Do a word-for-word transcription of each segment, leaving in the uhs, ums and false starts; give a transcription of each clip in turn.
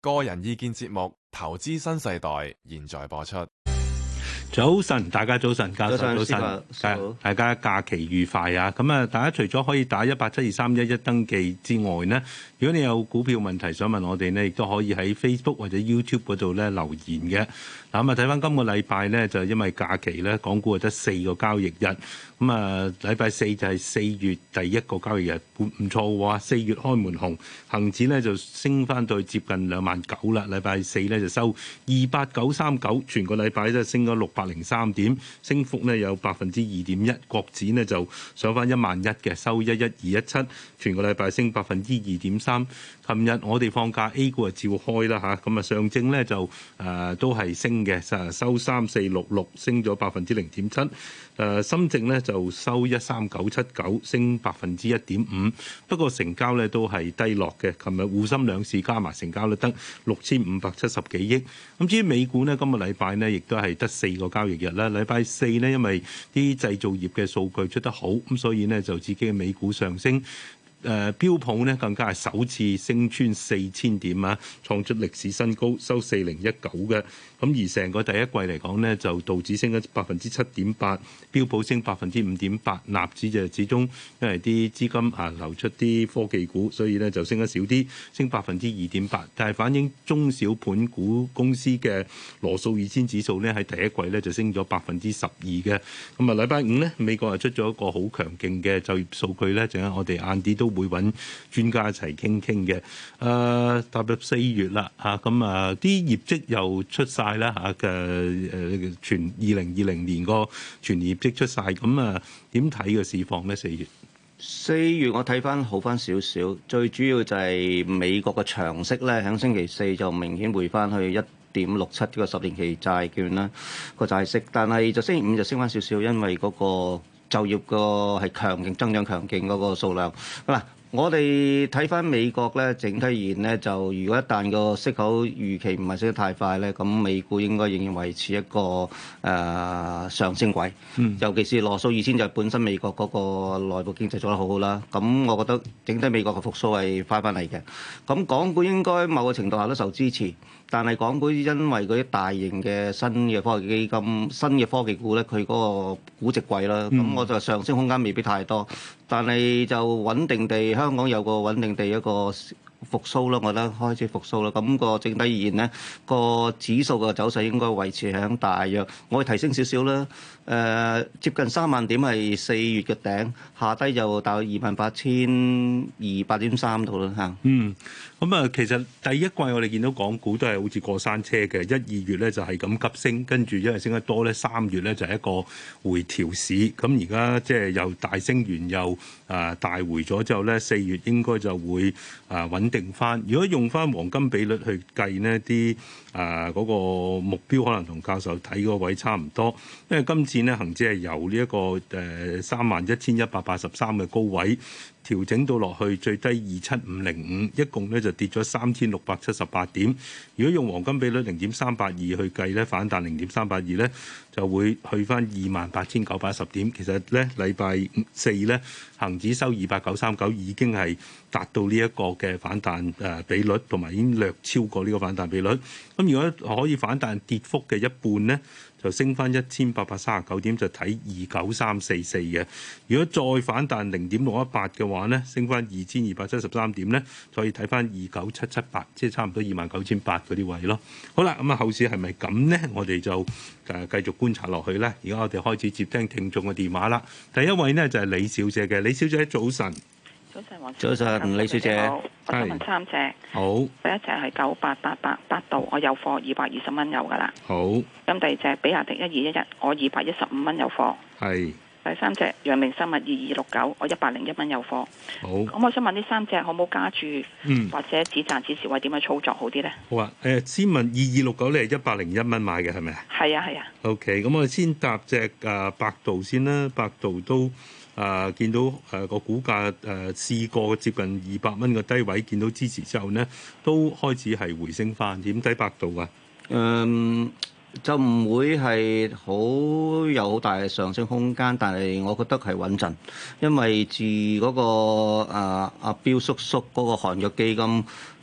個人意見節目《投資新世代》現在播出。 早晨，大家早晨，教授早晨， 早大家假期愉快啊！咁啊，大家除咗可以打一八七二三一一登記之外呢，如果你有股票問題想問我哋呢，亦都可以喺 Facebook 或者 YouTube 嗰度咧留言嘅。嗱咁啊，睇翻今個禮拜呢，就因為假期咧，港股係得四個交易日。咁啊，禮拜四就係四月第一個交易日，唔唔錯喎。四月開門紅，恆指咧就升翻到接近兩萬九啦。禮拜四咧就收二八九三九，全個禮拜咧升咗六百零三點，升幅咧有百分之二點一。國指呢就上翻一萬一嘅，收一一二一七，全個禮拜升百分之二點三。琴日我哋放假 A 股就照開啦嚇，咁啊上證咧就誒、呃、都係升嘅，收三四六六，升咗百分之零點七。誒深證咧就收一三九七九，升百分之一點五。不過成交咧都係低落嘅。琴日滬深兩市加埋成交率得六千五百七十幾億。咁至於美股呢，今個禮拜呢亦都係得四個交易日啦。禮拜四呢，因為啲製造業嘅數據出得好，咁所以呢就自己嘅美股上升。誒、呃、標普呢更加係首次升穿四千點啊，創出歷史新高，收四零一九嘅。咁而成個第一季嚟講呢，就道指升咗百分之七點八，標普升百分之五點八，納指就始終因為啲資金啊流出啲科技股，所以呢就升得少啲，升百分之二點八。但係反映中小盤股公司嘅羅素二千指數呢，喺第一季呢就升咗百分之十二嘅。咁啊禮拜五呢，美國係出咗一個好強勁嘅就業數據呢，陣間我哋晏啲都會揾專家一齊傾傾嘅。誒、呃、踏入四月啦嚇，咁啊啲業績又出晒啦嚇嘅誒全二零二零年個全年業績出晒，咁啊點睇個市況咧？四月四月我睇翻好翻少少，最主要就係美國嘅長息咧，喺星期四就明顯回翻去一點六七個十年期債券啦個債息，但係就星期五就升翻少少，因為嗰個就業個係強勁增長強勁嗰個數量嗱。我哋睇翻美國咧，整體而言咧，就如果一旦個息口預期唔係升得太快咧，咁美股應該仍然維持一個誒、呃、上升軌。嗯，尤其是羅素二千就係本身美國嗰個內部經濟做得好好啦。咁我覺得整體美國嘅復甦係翻翻嚟嘅。咁港股應該某個程度下都受支持，但係港股因為嗰啲大型嘅新嘅科技基金、新嘅科技股咧，佢嗰個估值貴啦，咁、嗯、我就上升空間未必太多。但係就穩定地，香港有個穩定地一個復甦啦，我覺得開始復甦啦。咁、那個整體而言咧，個指數嘅走勢應該維持喺大約，我會提升少少啦。誒、呃，接近三萬點係四月嘅頂，下低就大約二萬八千二百點三度啦嚇。 嗯，咁啊，其實第一季我哋見到港股都係好似過山車嘅，一二月咧就係咁急升，跟住因為升得多咧，三月咧就係一個回調市。咁而家即係又大升完又啊大回咗之後咧，四月應該就會啊穩定翻。如果用翻黃金比率去計呢啲啊嗰個目標可能同教授睇個位差唔多，因為今次呢恒指係由呢一個誒三萬一千一百八十三嘅高位調整到落去最低二七五零五，一共咧就跌咗三千六百七十八點。如果用黃金比率零點三八二去計咧，反彈零點三八二咧，就會去翻二萬八千九百一十點。其實咧禮拜四咧恒指收二百九三九，已經係達到呢一個嘅反彈誒比率，同埋已經略超過呢個反彈比率。咁如果可以反彈跌幅嘅一半咧，就升翻一千八百三十九點，就睇二九三四四嘅。如果再反彈零點六一八嘅話咧，升翻二千二百七十三點咧，再睇翻二九七七八，即係差唔多二萬九千八嗰啲位咯。好啦，咁啊後市係咪咁咧？我哋就誒繼續觀察落去咧。而家我哋開始接聽聽眾嘅電話啦。第一位呢，就係李小姐嘅，李小姐早晨。 早晨，黃早晨，李小姐。 我想問三隻。 好。 第一隻係九八八八百度，我有貨二百二十蚊有噶啦。 好。 咁第二隻比亞迪一二一一，我二百一十五蚊有貨。 係。 第三隻陽明生物二二六九，我一百零一蚊有貨。 好。 咁我想問呢三隻可唔可加注？ 嗯。 或者止賺止蝕位點樣操作好啲咧？ 好啊。誒，先問二二六九，你係一百零一蚊買嘅係咪啊？ 係啊係啊。 OK，咁我哋先搭隻誒百度先啦，百度都。啊、呃！見到誒個、呃、股價誒、呃、試過接近二百蚊嘅低位，見到支持之後呢，都開始係回升翻。點睇百度啊？ 嗯，就唔會係好有好大嘅上升空間，但係我覺得係穩陣，因為自嗰、那個啊阿彪叔叔嗰個韓國基金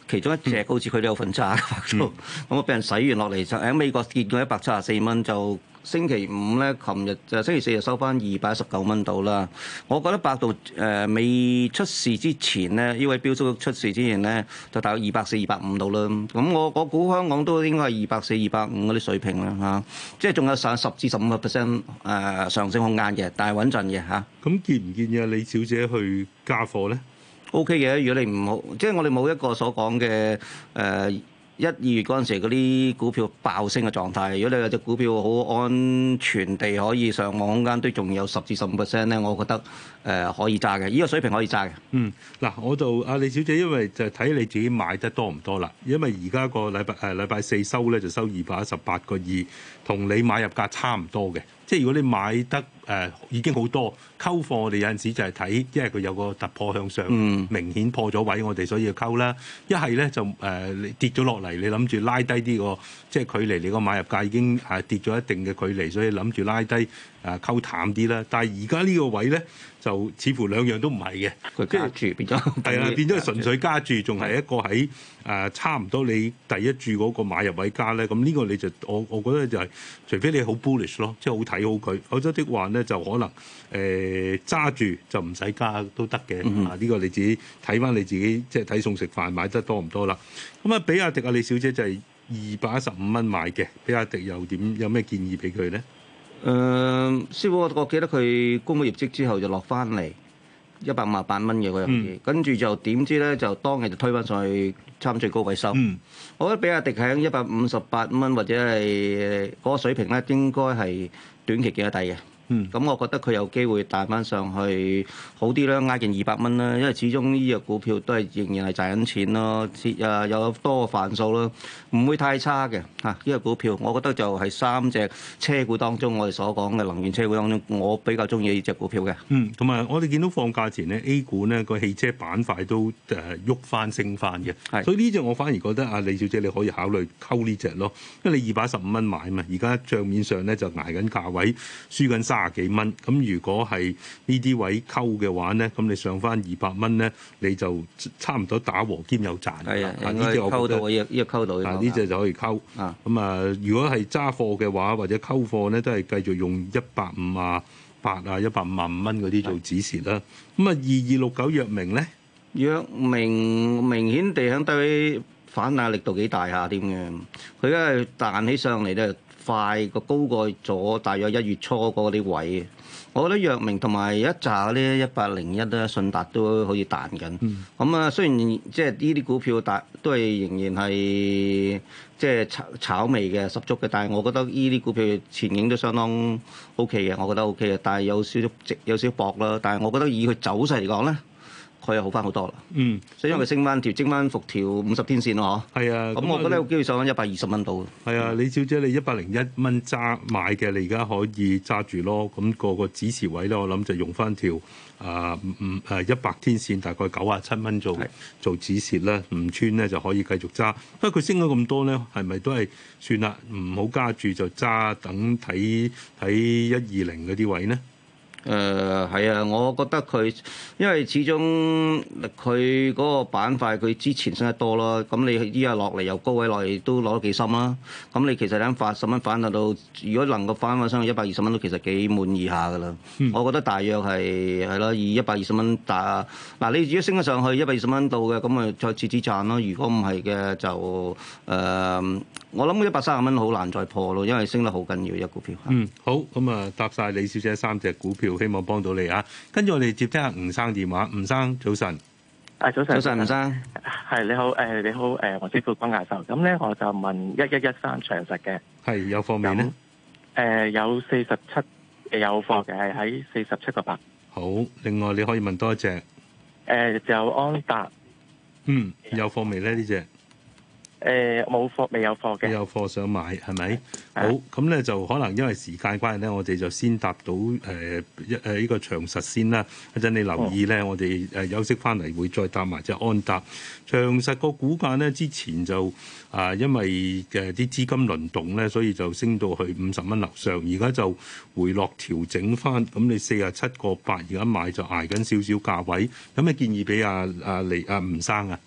其中一隻好似佢都有份揸嘅百度，咁啊俾人洗完落嚟就喺美國跌到一百七十四蚊，就星期五咧，琴日就星期四就收翻二百一十九蚊到啦。我覺得百度誒、呃、未出事之前咧，呢位標叔出事之前咧，就大概二百四、二百五到啦。咁我我估香港都應該係二百四、二百五嗰啲水平啦嚇、啊，即係仲有上十至十五個 percent 誒上升空間嘅，但係穩陣嘅嚇。 咁、啊、建唔建議啊李小姐去加貨咧？ O K 嘅，如果你唔好，即係我哋冇一個所講嘅誒一二月嗰陣時嗰啲股票爆升嘅狀態。如果你有隻股票好安全地可以上網空間都仲有十至十五 percent 咧，我覺得誒、呃、可以揸嘅，呢個水平可以揸嘅。 嗯，嗱，我就阿李小姐，因為就睇你自己買得多唔多啦。因為而家個禮拜誒禮拜四收咧就收二百一十八個二，同你買入價差唔多嘅。即係如果你買得誒、呃、已經好多溝貨，我哋有陣時就係睇，因為佢有個突破向上， 嗯、 明顯破咗位，我哋所以要溝啦。一係咧就誒、呃、跌咗落嚟，你諗住拉低啲個，即係距離你個買入價已經誒跌咗一定嘅距離，所以諗住拉低誒溝淡啲啦。但係而家呢個位咧，就似乎兩樣都唔係嘅， 佢加住變咗係啦，變咗純粹加注，仲係一個喺誒、呃、差唔多你第一注嗰個買入位加咧。咁呢個你就我我覺得就係、是，除非你好 bullish 咯，即係好睇好佢，否則的話咧就可能誒揸住就唔使加都得嘅。嗯、啊，呢、這個你自己睇翻你自己，即係睇餸食飯買得多唔多啦。咁啊，比亞迪啊，李小姐就係二百一十五蚊買嘅，比亞迪又點？有咩建議俾佢咧？ 誒、呃，師傅，我記得佢公布業績之後就落翻嚟一百五十八蚊嘅嗰樣嘢，嗯、跟住就點知咧就當日就推翻上去差唔多最高位收。嗯、我覺得比亞迪喺一百五十八蚊或者係嗰個水平咧，應該係短期見得底嘅。嗯，咁我覺得佢有機會彈翻上去好啲啦，挨近二百蚊啦，因為始終呢隻股票都係仍然係賺緊錢咯，誒有多個範數咯，唔會太差嘅嚇。呢隻股票我覺得就係三隻車股當中，我哋所講嘅能源車股當中，我比較中意呢隻股票嘅。嗯， 同埋我哋見到放假前咧 A 股咧個汽車板塊都誒喐翻升翻嘅，係，所以呢隻我反而覺得阿李小姐你可以考慮溝呢隻咯，因為你二百一十五蚊買嘛，而家帳面上咧就捱緊價位，輸緊三廿幾蚊，咁如果係呢啲位溝嘅話咧，咁你上翻二百蚊咧，你就差唔多打和兼有賺。係啊， 呢隻溝到，呢呢個溝到。 啊，呢隻就可以溝。啊，咁啊，如果係揸貨嘅話，或者溝貨咧，都係繼續用一百五啊八啊、一百五十五蚊嗰啲做指示啦。咁啊，二二六九藥明咧， 藥明明顯地喺低位反彈力度幾大下添嘅，佢而家係彈起上嚟咧。快個高過咗，大約一月初嗰啲位，我覺得藥明同埋一紮嗰啲一百零一咧，信達都可以彈緊。咁啊、嗯，雖然即係呢啲股票大都係仍然係即係炒炒味嘅十足嘅，但係我覺得呢啲股票前景都相當 O K 嘅，我覺得 O K 嘅，但係有少少值有少少薄啦。但係我覺得以佢走勢嚟講咧，佢又好翻好多啦。嗯，所以因為佢升翻條，升翻復條五十天線咯，嗬。係啊，咁我覺得有機會上翻一百二十蚊度。 係啊，李小姐，你一百零一蚊揸買嘅，你而家可以揸住咯。咁、那個個指示位咧，我諗就用翻條啊唔誒一百天線，大概九啊七蚊做是做止蝕啦。唔穿咧就可以繼續揸。不過佢升咗咁多咧，係咪都係算啦？唔好加住就揸，等睇睇一二零嗰啲位咧。 誒係啊，我覺得佢，因為始終佢嗰個板塊佢之前升得多咯，咁你依家落嚟由高位落嚟都攞得幾深啦。咁你其實喺八十蚊反彈到，如果能夠翻翻上去一百二十蚊都其實幾滿意下噶啦。嗯、我覺得大約係係咯，以一百二十蚊打嗱，你如果升得上去一百二十蚊度嘅，咁咪再次止賺咯。如果唔係嘅就誒、呃，我諗一百三十蚊好難再破咯，因為升得好緊要一股票。 嗯，好，咁啊答晒李小姐三隻股票。希望幫到你啊！跟住我哋接聽下吳生電話。吳生早晨， 誒早晨， 早晨吳生， 係你好，誒你好，誒黃師傅關教授。咁咧我就問一一一三長實嘅， 係有貨未咧？誒、 呃、有四十七有貨嘅，係喺四十七個八。 好，另外你可以問多一隻，誒、 呃、就安達， 嗯有貨未咧呢隻？ 誒冇貨，未有貨嘅。 有貨想買係咪？好，咁咧就可能因為時間關係咧，我哋就先答到誒一誒呢個長實先啦。一陣你留意咧，我哋誒休息翻嚟會再答埋隻安達。長實個股價咧之前就啊、呃、因為嘅啲資金輪動咧，所以就升到去五十蚊樓上，而家就回落調整翻。咁你四十七個八而家買就捱緊少少價位。有咩建議俾阿阿黎阿吳生啊？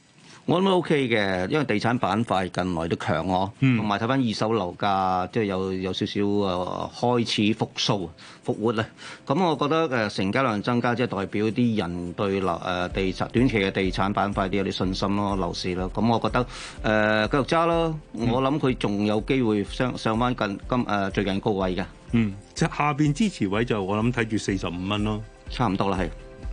我諗都 OK 嘅，因為地產板塊近來都強喎，同埋睇翻二手樓價，即係有有少少誒開始復甦復活咧。咁我覺得誒成交量增加，即係代表啲人對樓誒地產短期嘅地產板塊啲有啲信心咯，樓市咯。咁我覺得誒繼續揸咯，我諗佢仲有機會上上翻近今誒最近高位嘅。 嗯，即係下邊支持位就我諗睇住四十五蚊咯， 差唔多啦，係。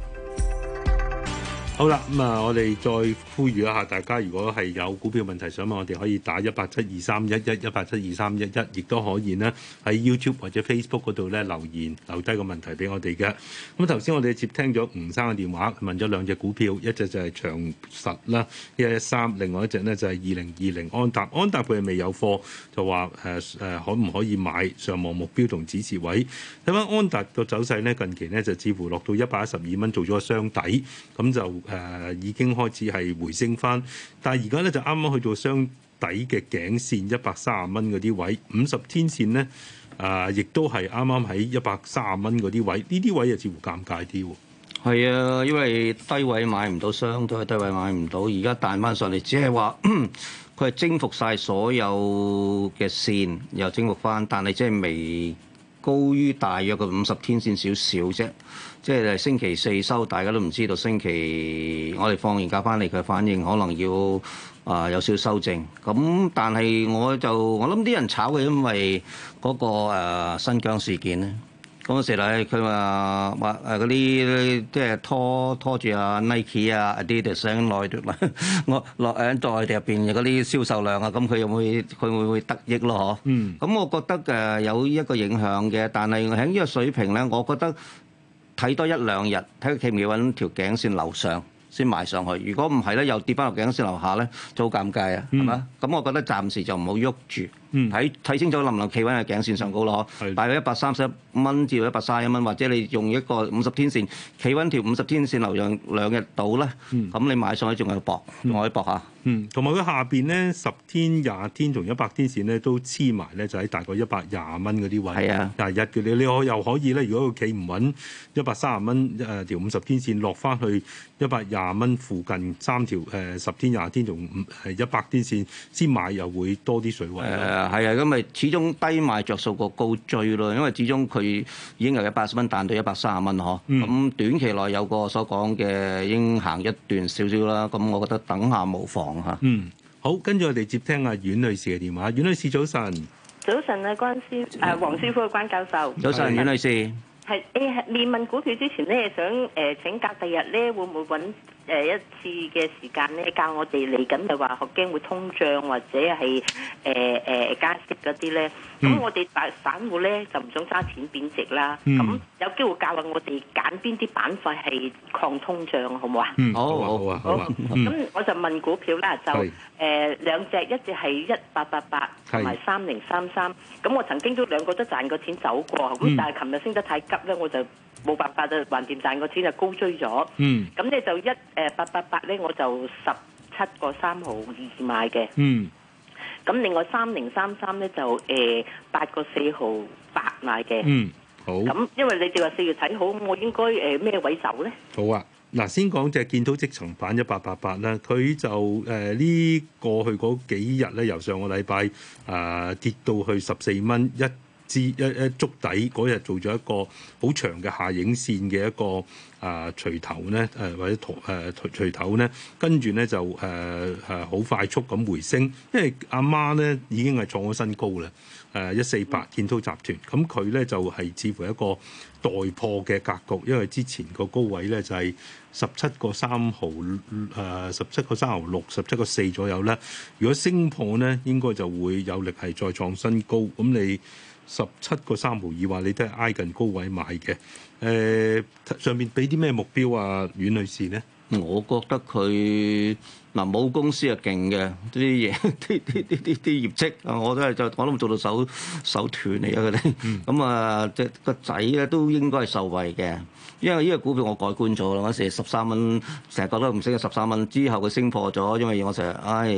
好啦，咁啊，我哋再呼籲一下大家，如果係有股票問題想問我哋，可以打一八七二三一一一八七二三一一，亦都可以呢喺 YouTube 或者 Facebook 嗰度咧留言留低個問題俾我哋嘅。咁頭先我哋接聽咗吳生嘅電話，問咗兩隻股票，一隻就係長實啦，一一三，另外一隻呢就係二零二零安踏。安踏佢係未有貨，就話誒誒可唔可以買上望目標同指示位？睇翻安踏個走勢呢，近期呢就似乎落到一百一十二蚊做咗個雙底，咁就誒、呃、已經開始係回升翻，但係而家咧就啱啱去到雙底嘅頸線一百三十蚊嗰啲位，五十天線咧啊，亦都係啱啱喺一百三十蚊嗰啲位，呢啲位又似乎尷尬啲喎。 係啊，因為低位買唔到雙，都係低位買唔到，而家彈翻上嚟，只係話佢係征服晒所有嘅線，又征服翻，但係即係未高於大約個五十天線少少啫。即係星期四收，大家都唔知道星期我哋放完假翻嚟嘅反應，可能要啊、呃、有少少修正。咁但係我就我諗啲人炒嘅，因為嗰、那個、呃、新疆事件咧。嗰陣時咧，佢話話誒嗰啲即係拖拖住啊 Nike 啊 Adidas 喺內地，我落喺內地入邊嗰啲銷售量啊，咁佢又會佢會唔會得益咯？嗬。嗯。咁我覺得誒有一個影響嘅，但係喺呢個水平咧，我覺得睇多一兩日，睇佢企唔企穩條頸線樓上先買上去。如果唔係咧，又跌翻落頸線樓下咧，就好尷尬啊，係嘛？咁我覺得暫時就唔好喐住。睇睇、嗯、清楚能唔能企穩喺頸線上高咯，的大概一百三十一蚊至到一百三十一蚊，或者你用一個五十天線企穩條五十天線流量兩日到咧，咁、嗯、你買上去仲有搏，仲可以搏下。 嗯，同埋佢下邊咧十天、廿天同一百天線咧都黐埋咧，就喺大概一百廿蚊嗰啲位。係啊的，廿日嘅你你可又可以咧，如果佢企唔穩一百三十蚊誒條五十天線落翻去一百廿蚊附近三條誒十天、廿天同誒一百天線先買，又會多啲水位。 誒係啊，咁咪始終低賣着數過高追咯，因為始終佢已經由一百十蚊彈到一百三十蚊嗬。咁、嗯、短期內有個所講嘅已經行一段少少啦，咁我覺得等下無妨嚇。 嗯，好，跟住我哋接聽阿阮女士嘅電話。阮女士早晨。 早晨啊，關師誒黃師傅嘅關教授。 早晨，阮女士。 係誒，未問股票之前咧，想誒、呃、請教第日咧會唔會揾誒、呃、一次嘅時間咧教我哋嚟緊，就話學驚會通脹或者係誒誒加息嗰啲咧。咁、嗯、我哋大散戶咧就唔想揸錢貶值啦。咁、嗯、有機會教下我哋揀邊啲板塊係抗通脹，好唔好啊？ 嗯，好啊，好啊，好啊。 咁、嗯、我就問股票啦，就誒是、呃、兩隻，一隻係一八八八同埋三零三三。咁我曾經都兩個都賺過錢走過，咁、嗯、但係琴日升得太急咧，我就冇辦法就橫掂賺個錢就高追咗。嗯，咁咧就一誒八八八咧，我就十七個三毫二買嘅。嗯，咁另外三零三三咧就誒八個四毫八買嘅。嗯，好。咁因為你哋話四月睇好，我應該誒咩位走咧？ 好啊，嗱，先講隻建滔積層板一八八八啦，佢就誒呢、呃、過去嗰幾日咧，由上個禮拜啊跌到去十四蚊一。至一一觸底嗰日做咗一個好長嘅下影線嘅一個啊錘頭咧，誒或者圖誒錘頭咧，跟住咧就誒誒好快速咁回升，因為阿媽咧已經係創咗新高啦，誒一四八建滔集團，咁佢咧就係似乎一個待破嘅格局，因為之前個高位咧就係十七個三毫誒十七個三毫六、十七個四左右咧，如果升破咧，應該就會有力係再創新高，咁你。十七個三毫二話你都係挨近高位買嘅，誒、呃、上面俾啲咩目標啊，阮女士呢？ 我覺得佢嗱冇公司係勁嘅啲嘢，啲啲啲啲啲業績啊，我都係就我都做到手手斷嚟啊！佢哋咁啊，即個仔咧都應該係受惠嘅，因為呢個股票我改觀咗啦，嗰時十三蚊，成日覺得唔升嘅十三蚊之後佢升破咗，因為我成日唉。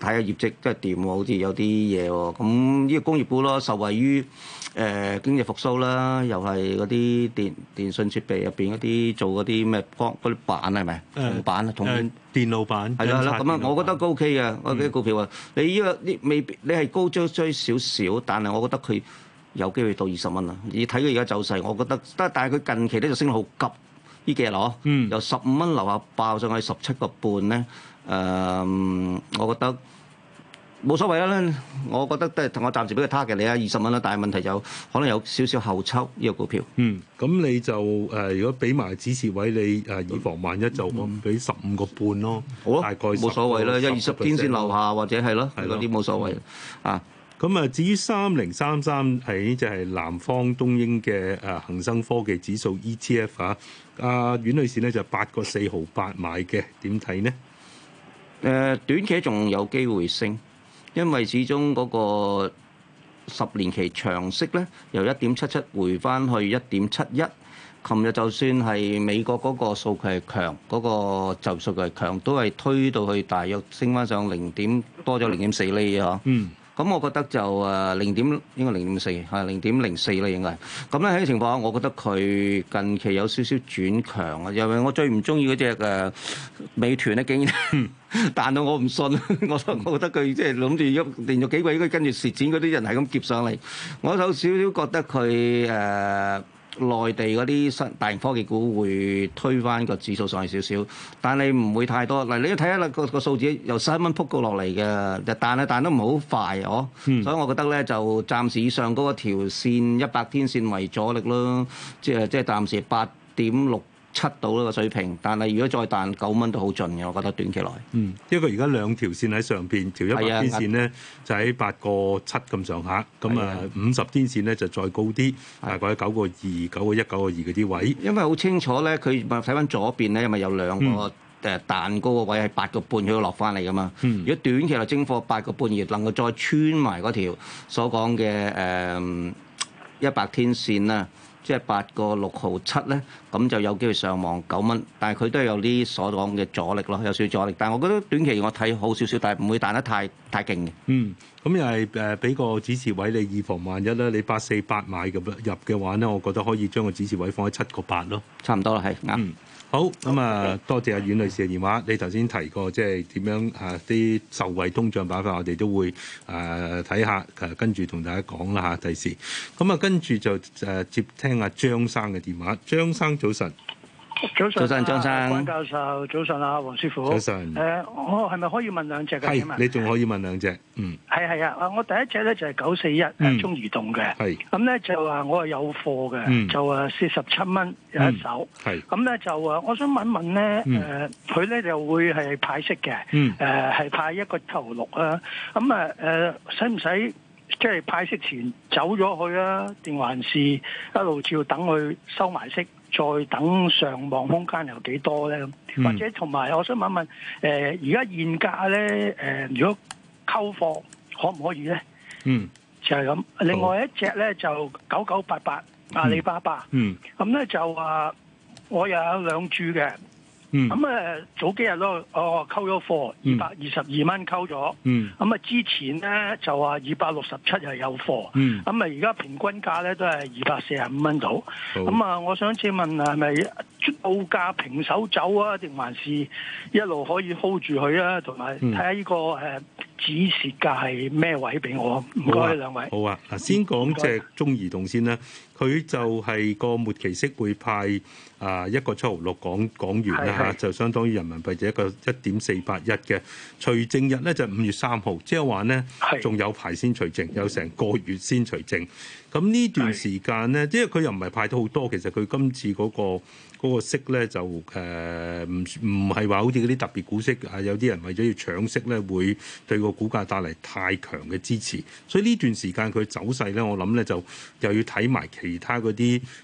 睇下業績真係掂喎，好似有啲嘢喎。咁呢個工業股咯，受惠於誒、呃、經濟復甦啦，又係嗰啲電電信設備入邊嗰啲做嗰啲咩光嗰啲板係咪？銅板啊，銅誒電路板係啦係啦，咁啊，我覺得都 OK 嘅。我啲股票啊，你呢個呢未必你係高追追少少，但係我覺得佢有機會到二十蚊啦。而睇佢而家走勢，我覺得得，但係佢近期咧就升得好急。呢幾日咯，嗯、由十五蚊樓下爆上去十七個半咧，誒、呃，我覺得冇所謂啦。我覺得都係我暫時俾個 target 你啊，二十蚊啦。但係問題就可能有少少後抽呢、這個股票。 嗯，咁你就誒、呃，如果俾埋指示位你誒、呃，以防萬一就我俾十五個半咯。好啊，大概冇所謂啦，一二十天線樓下或者係咯，嗰啲冇所謂啊。 咁啊，至於三零三三係呢就係南方東英嘅誒恆生科技指數 E T F 啊，阿阮女士呢就八個四毫八買嘅，點睇呢？ 誒、呃，短期仲有機會升，因為始終嗰個十年期長息咧由一點七七回翻去一點七一。琴日就算係美國嗰個數據係強，嗰、那個就業數據係強，都係推到去大約升翻上零點多咗零點四厘啊！嗯。咁我覺得就誒零點應該零點四係零點零四啦，應該係。咁咧喺個情況下，我覺得佢近期有少少轉強啊，因為我最唔中意嗰隻誒美團咧，竟然彈到我唔信，我我覺得佢即係諗住一連續幾個月跟住蝕錢嗰啲人係咁夾上嚟，我有少少覺得佢誒。呃內地嗰啲新大型科技股會推翻個指數上去少少，但係唔會太多。嗱，你睇下啦，個個數字由十一蚊撲過落嚟嘅，就彈啊彈得唔係好快哦。嗯、所以我覺得咧就暫時以上嗰個條線一百天線為阻力咯，即係即係暫時八點六七度呢個水平。但係如果再彈九蚊都好盡嘅，我覺得短期內。 嗯，因為而家兩條線喺上邊，條一百天線咧就喺八個七咁上下，咁啊五十天線咧就再高啲，大概喺九個二、九個一、九個二嗰啲位。因為好清楚咧，佢咪睇翻左邊咧，因為有兩個誒彈高個位係八個半，佢要落翻嚟噶嘛。嗯、如果短期內蒸貨八個半而能夠再穿埋嗰條所講嘅誒一百天線啦。即係八個六毫七咧，咁就有機會上望九蚊，但係佢都係有啲所講嘅阻力咯，有少少阻力。但係我覺得短期我睇好少少，但係唔會彈得太太勁嘅。嗯， 咁又係誒俾個指示位你，以防萬一咧，你八四八買咁入嘅話咧，我覺得可以將個指示位放喺七個八咯。 差唔多啦，係啱。 嗯好咁啊，多謝阿阮女士嘅電話。你頭先提過即係點樣啊？啲受惠通脹板塊，我哋都會誒睇下，誒跟住同大家講啦嚇。第時咁啊，跟住就誒接聽阿張生嘅電話。張生早晨。 早晨， 早晨，張生， 關教授，早晨啊，黃師傅， 早晨。 誒、呃，我係咪可以問兩隻嘅？ 係，你仲可以問兩隻。嗯， 係係啊，我第一隻咧就係九四一誒中移動嘅。係是。咁咧就話我係有貨嘅，嗯、就誒四十七蚊有一手。係、嗯。咁咧就誒，我想問問咧誒，佢咧、嗯呃、就會係派息嘅。嗯。誒係、呃、派一個頭六啊。咁啊誒，使唔使即係派息前走咗去啊？定還是一路照等佢收埋息？再等上望空間有幾多咧？嗯、或者同埋，我想問問，誒而家現價咧，誒、呃、如果溝貨可唔可以咧？嗯，就係咁。另外一隻咧就九九八八阿里巴巴。嗯，咁咧就話我又有兩注嘅。嗯，咁誒早幾日咯，哦溝咗貨二百二十二蚊溝咗。嗯，咁啊之前咧就話二百六十七係有貨。嗯，咁啊而家平均價咧都係二百四十五蚊度。咁啊，我想請問係咪報價平手走啊，定還是一路可以 hold 住佢啊？同埋睇下呢個誒止蝕價係咩位俾我？唔該兩位。 好啊，嗱先講隻中移動先啦。佢就係個末期息會派啊一個七毫六港港元啦嚇，就相當於人民幣就一個一點四八一嘅。除淨日咧就五月三號，即係話咧仲有排先除淨，有成個月先除淨。咁呢段時間咧，因為佢又唔係派到好多，其實佢今次嗰個嗰個息咧就誒唔唔係話好似嗰啲特別股息啊，有啲人為咗要搶息咧，會對個股價帶嚟太強嘅支持。所以呢段時間佢走勢咧，我諗咧就又要睇埋其他嗰啲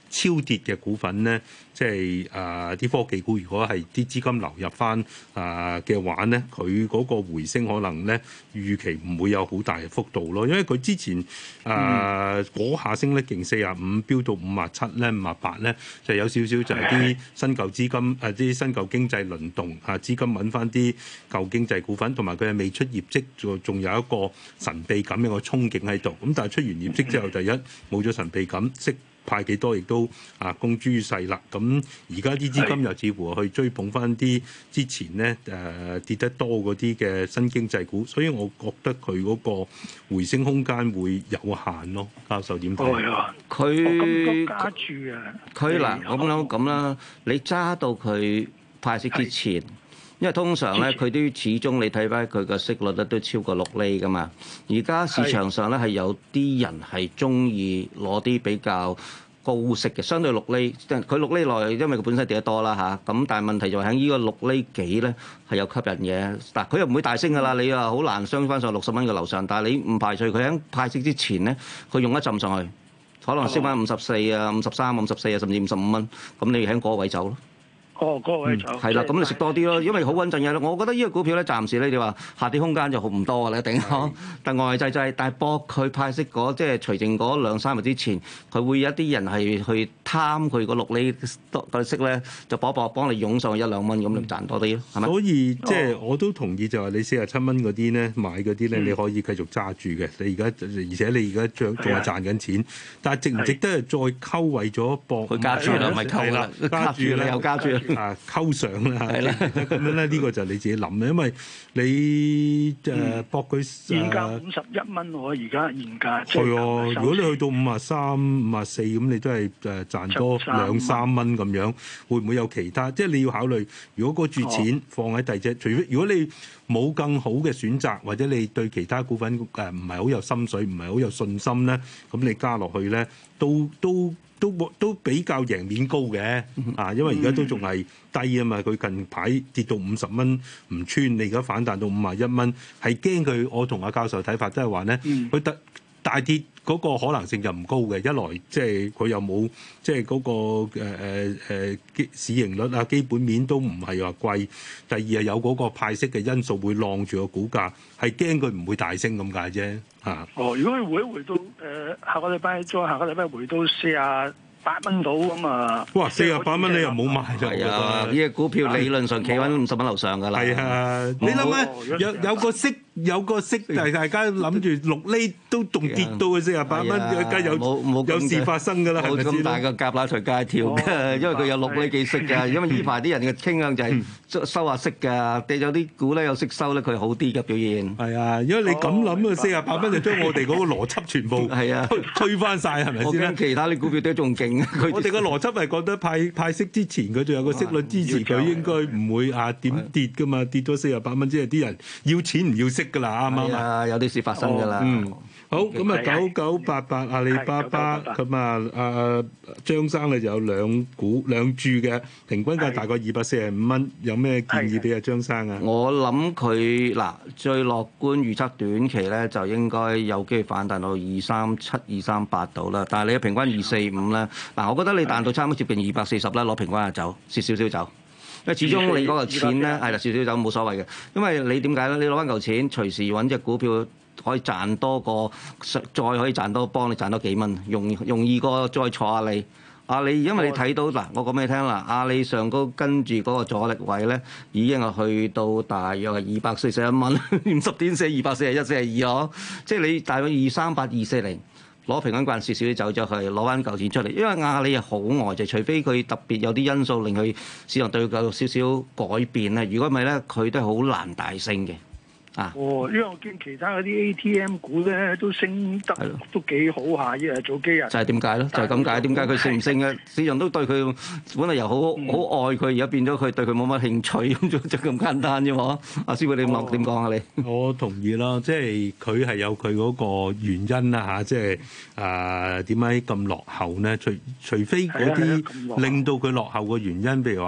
超跌嘅股份咧，即係誒啲科技股，如果係啲資金流入翻誒嘅話咧，佢嗰個回升可能咧預期唔會有好大嘅幅度咯，因為佢之前誒嗰、呃、下升咧勁四十五飆到五十七咧五十八咧，就有少少就係啲新舊資金誒啲新舊經濟輪動啊，資金揾翻啲舊經濟股份，同埋佢係未出業績，仲仲有一個神秘感嘅個憧憬喺度。咁但係出完業績之後，第一冇咗神秘感，息派幾多亦都啊公諸於世啦。咁而家啲資金又似乎去追捧翻啲之前咧誒、呃、跌得多嗰啲嘅新經濟股，所以我覺得佢嗰個回升空間會有限咯。教授點睇？ 佢加注啊！ 佢嗱咁樣咁啦，你揸到佢派息之前，因為通常咧佢都始終你睇翻佢個息率咧都超過六厘噶嘛。而家市場上咧係有啲人係中意攞啲比較高息嘅，相對六厘，佢六厘內，因為佢本身跌得多啦嚇。咁但係問題就喺呢個六厘幾咧係有吸引嘅。嗱，佢又唔會大升噶啦，你又好難升翻上六十蚊嘅樓上。但係你唔排除佢喺派息之前咧，佢用一浸上去，可能升翻五十四啊、五十三、五十四啊，甚至五十五蚊。咁你喺嗰個位走咯。 哦，嗰個位就係啦，咁你食多啲咯，因為好穩陣嘅。我覺得呢個股票咧，暫時咧，你話下跌空間就好唔多㗎啦，一定。但外滯滯，但係博佢派息嗰即係除淨嗰兩三日之前，佢會有一啲人係去貪佢個六厘個息咧，就搏搏幫你湧上去一兩蚊，咁你賺多啲咯，係咪？ 所以即係我都同意，就係你四十七蚊嗰啲咧買嗰啲咧，你可以繼續揸住嘅。你而家而且你而家仲仲係賺緊錢，但係值唔值得係再溝為咗博？ 佢加注啦，咪溝啦，加注啦，又加注。 啊，溝上啦，咁樣咧，呢個就你自己諗啦，因為你誒博佢現價五十一蚊喎，而家現價係啊，如果你去到五啊三、五啊四咁，你都係誒賺多兩三蚊咁樣，會唔會有其他？即係你要考慮，如果嗰注錢放喺第二隻，除非如果你冇更好嘅選擇，或者你對其他股份誒唔係好有心水，唔係好有信心咧，咁你加落去咧，都都。都都比較贏面高嘅啊，因為而家都仲係低啊嘛，佢近排跌到五十蚊唔穿，你而家反彈到五十一蚊，係驚佢。我同阿教授睇法，即係話咧，佢大大跌嗰個可能性就唔高嘅。一來即係佢又冇即係嗰個誒誒誒基市盈率啊，基本面都唔係話貴。第二係有嗰個派息嘅因素會晾住個股價，係驚佢唔會大升咁解啫嚇。 哦，如果佢回一回到誒、呃、下個禮拜再下個禮拜回到四啊八蚊到咁啊！ 哇，四十八蚊你又冇買就係啊！呢隻股票理論上企穩五十蚊樓上㗎啦。 係啊，你諗下有有個息有個息，但係大家諗住六厘都仲跌到去四十八蚊，梗係有有事發生㗎啦，係咪先？ 冇咁大個夾乸隨街跳嘅，因為佢有六厘幾息㗎。因為呢排啲人嘅傾向就係收收下息㗎，跌有啲股咧有息收咧，佢好啲嘅表現。 係啊，因為你咁諗啊，四十八蚊就將我哋嗰個邏輯全部係啊推翻曬，係咪先？ 我驚其他啲股票都仲勁。 我哋個邏輯係覺得派派息之前佢仲有個息率支持佢，應該唔會啊點跌㗎嘛，跌咗四十八蚊，即係啲人要錢唔要息㗎啦，啱唔啱啊？ 有啲事發生㗎啦。 嗯，好，咁啊九九八八阿里巴巴咁啊，阿張生咧就有兩股兩注嘅，平均價大概二百四十五蚊，有咩建議俾阿張生啊？ 我諗佢嗱最樂觀預測短期咧就應該有機會反彈到二三七、二三八度啦，但係你嘅平均二四五咧，嗱我覺得你彈到差唔多接近二百四十啦，攞平均就走，蝕少少走。因為始終你嗰個錢咧係啦，少少走冇所謂嘅，因為你點解咧？你攞翻嚿錢，隨時揾隻股票可以賺多個，再可以賺多幫你賺多幾蚊，容容易過再坐阿里。阿里因為你睇到嗱，我講俾你聽啦，阿里上高跟住嗰個阻力位咧，已經係去到大約係二百四十一蚊，五十點四二百四十一、四十二哦，即係你大約二三八、二四零。攞平均慣少少啲走咗去，攞翻嚿錢出嚟。因為阿里係好呆滯，除非佢特別有啲因素令佢市場對佢有少少改變咧。如果唔係咧，佢都係好難大升嘅。啊！ 哦，因為我見其他嗰啲 A T M 股咧都升得都幾好下，依日早幾日。 就係點解咧？就係咁解。點解佢升唔升嘅？市場都對佢本嚟又好好愛佢，而家變咗佢對佢冇乜興趣，咁就就咁簡單啫嘛。阿師傅你諗點講啊？你我同意啦，即係佢係有佢嗰個原因啦嚇，即係啊點解咁落後咧？除除非嗰啲令到佢落後嘅原因，譬如話。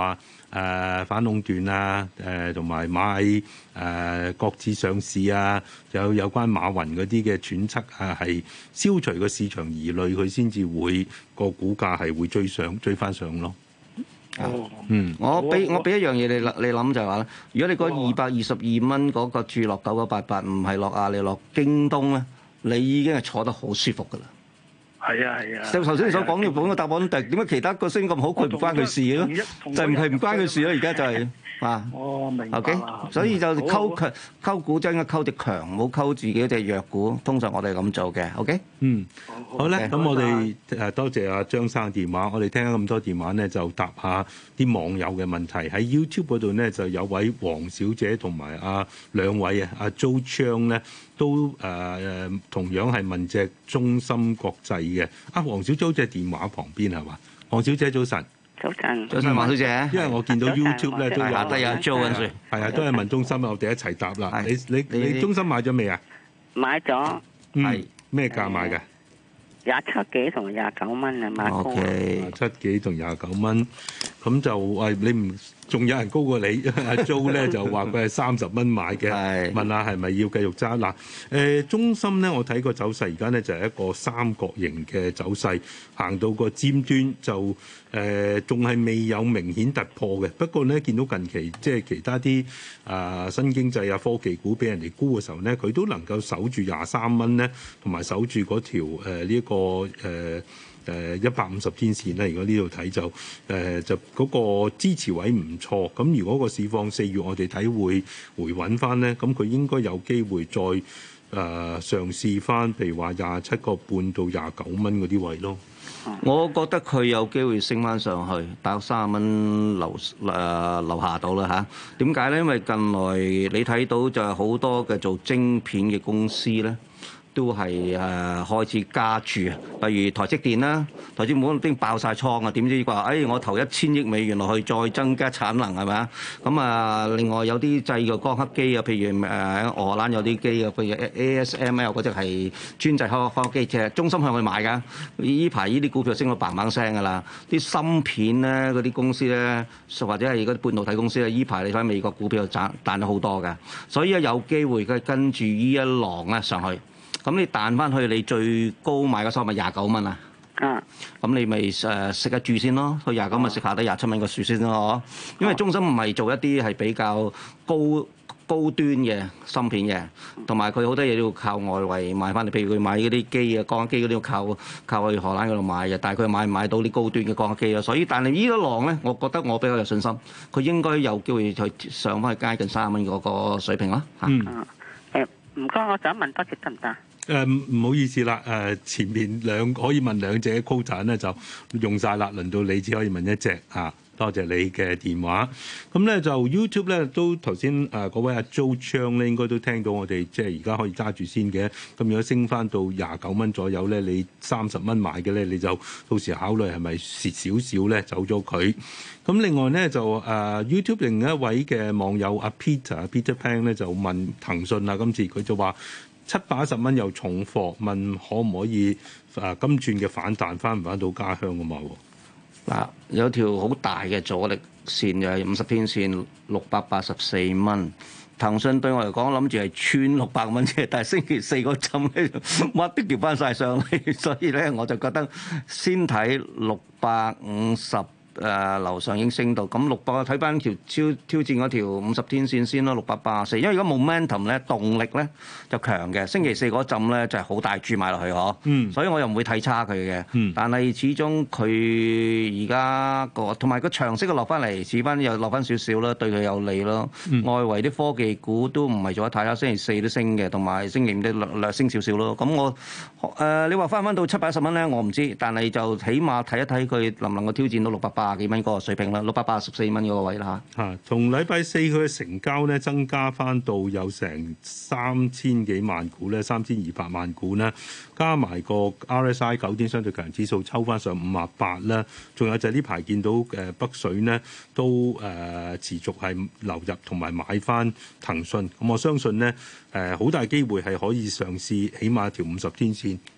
誒反壟斷啊，誒同埋買誒擱置上市啊，有有關馬雲嗰啲嘅揣測啊，係消除個市場疑慮，佢先至會個股價係會追上追翻上咯。 哦，嗯，我俾我俾一樣嘢你諗，你諗就係話咧，如果你嗰二百二十二蚊嗰個注落九九八八，唔係落阿里落京東咧，你已經係坐得好舒服噶啦。 係啊係啊， 就頭先你所講嘅本個答案，但係點解其他個升咁好，佢唔關佢事嘅咯？就唔係唔關佢事咯，而家就係、是。啊， 我明白。 O K， 所以就溝強溝股真係溝隻強，唔好溝自己嗰隻弱股。通常我哋係咁做嘅。O K， 嗯，好咧，咁我哋誒多謝阿張生電話。我哋聽咗咁多電話咧，就答下啲網友嘅問題。喺 YouTube 嗰度咧，就有位黃小姐同埋阿兩位啊，阿 Jo Chang 咧都誒、呃、同樣係問隻中芯國際嘅。阿黃小姐好似喺電話旁邊係嘛？黃小姐早晨。 早晨， 早晨，黃小姐。 因為我見到 YouTube 咧都有下低有 Jo 跟住， 係啊，都係問中芯啊，我哋一齊答啦。你你你中芯買咗未啊？ 買咗。 係咩價買嘅？ 廿七幾同廿九蚊啊，買高。 廿七幾同廿九蚊，咁就喂你唔仲有人高過你？阿 Jo 咧就話佢係三十蚊買嘅，問下係咪要繼續揸嗱？誒中芯咧，我睇個走勢而家咧就係一個三角形嘅走勢，行到個尖端就誒仲係未有明顯突破嘅。不過咧見到近期即係其他啲啊新經濟啊科技股俾人哋沽嘅時候咧，佢都能夠守住廿三蚊咧，同埋守住嗰條誒呢一個誒。誒一百五十天線咧，如果呢度睇就誒、呃、就嗰個支持位唔錯。咁如果個市況四月我哋睇會回穩翻咧，咁佢應該有機會再誒、呃、嘗試翻，譬如話廿七個半到廿九蚊嗰啲位咯。 我覺得佢有機會升翻上去，大約三十蚊樓誒樓下到啦嚇。點解咧？因為近來你睇到就係好多嘅做晶片嘅公司咧。都係誒、呃、開始加注，例如台積電啦，台積電已經爆晒倉啊！點知話誒、哎、我投一千億美元落去，再增加產能係咪啊？咁啊，另外有啲製嘅光刻機啊，譬如誒喺、呃、荷蘭有啲機啊，譬如 A S M L 嗰隻係專製光刻機，即係中芯向佢買㗎。呢排呢啲股票升到嘭嘭聲㗎啦，啲芯片咧嗰啲公司咧，或者係嗰啲半導體公司咧，呢排你睇美國股票賺彈咗好多㗎，所以有機會佢跟住呢一浪咧上去。咁你彈翻去你最高買嘅收咪廿九蚊啊？嗯。咁你咪誒食一注先咯，去廿九咪食下低廿七蚊個樹先咯，因為中芯唔係做一啲係比較高高端嘅芯片嘅，同埋佢好多嘢都要靠外圍買翻嚟，譬如佢買嗰啲機啊、光刻機嗰啲要靠靠去荷蘭嗰度買嘅，但係佢買唔買到啲高端嘅光刻機啊？所以但係呢一浪咧，我覺得我比較有信心，佢應該有機會去上翻去接近三十蚊嗰個水平啦。 嗯。誒唔該，我想問多隻得唔得？ 誒唔、呃、好意思啦，誒、呃、前面兩可以問兩隻 quota 咧就用晒啦，輪到你只可以問一隻啊。多謝你嘅電話。咁咧就 YouTube 咧都頭先誒嗰位阿 Jo Chang 咧應該都聽到我哋即係而家可以揸住先嘅。咁如果升翻到廿九蚊左右咧，你三十蚊買嘅咧，你就到時考慮係咪蝕少少咧走咗佢。咁另外咧就誒、呃、YouTube 另一位嘅網友阿 Peter Peter Pan 咧就問騰訊啊，今次佢就話七百一十蚊有重貨，問可唔可以誒今轉嘅反彈翻唔翻到家鄉啊嘛？ 嗱，有條好大嘅阻力線就係五十天線六百八十四蚊。騰訊對我嚟講，諗住係穿六百蚊啫，但係星期四嗰陣咧，乜都調翻晒上嚟，所以咧我就覺得先睇六百五十。誒、呃、樓上已經升到咁六百，睇翻條挑挑戰嗰條五十天線先咯，六百八十四。因為如果 momentum 咧動力咧就強嘅，星期四嗰陣咧就係、是、好大注買落去嗬。嗯。所以我又唔會睇差佢嘅。嗯。但係始終佢而家個同埋個長息嘅落翻嚟，似翻又落翻少少啦，對佢有利咯。嗯、外圍啲科技股都唔係做得太差，星期四都升嘅，同埋星期五都略略升少少咯。咁我誒、呃、你話翻翻到七百一十蚊咧，我唔知，但係就起碼睇一睇佢能唔能夠挑戰到六百八十幾蚊嗰個水平啦，六百八十四蚊嗰個位啦嚇。 嚇，從禮拜四佢嘅成交咧增加翻到有成三千幾萬股咧，三千二百萬股咧，加埋個 R S I 九天相對強指數抽翻上五啊八啦。仲有就係呢排見到誒北水呢都誒持續係流入同埋買翻騰訊，咁我相信呢誒好大機會係可以嘗試起碼條五十天線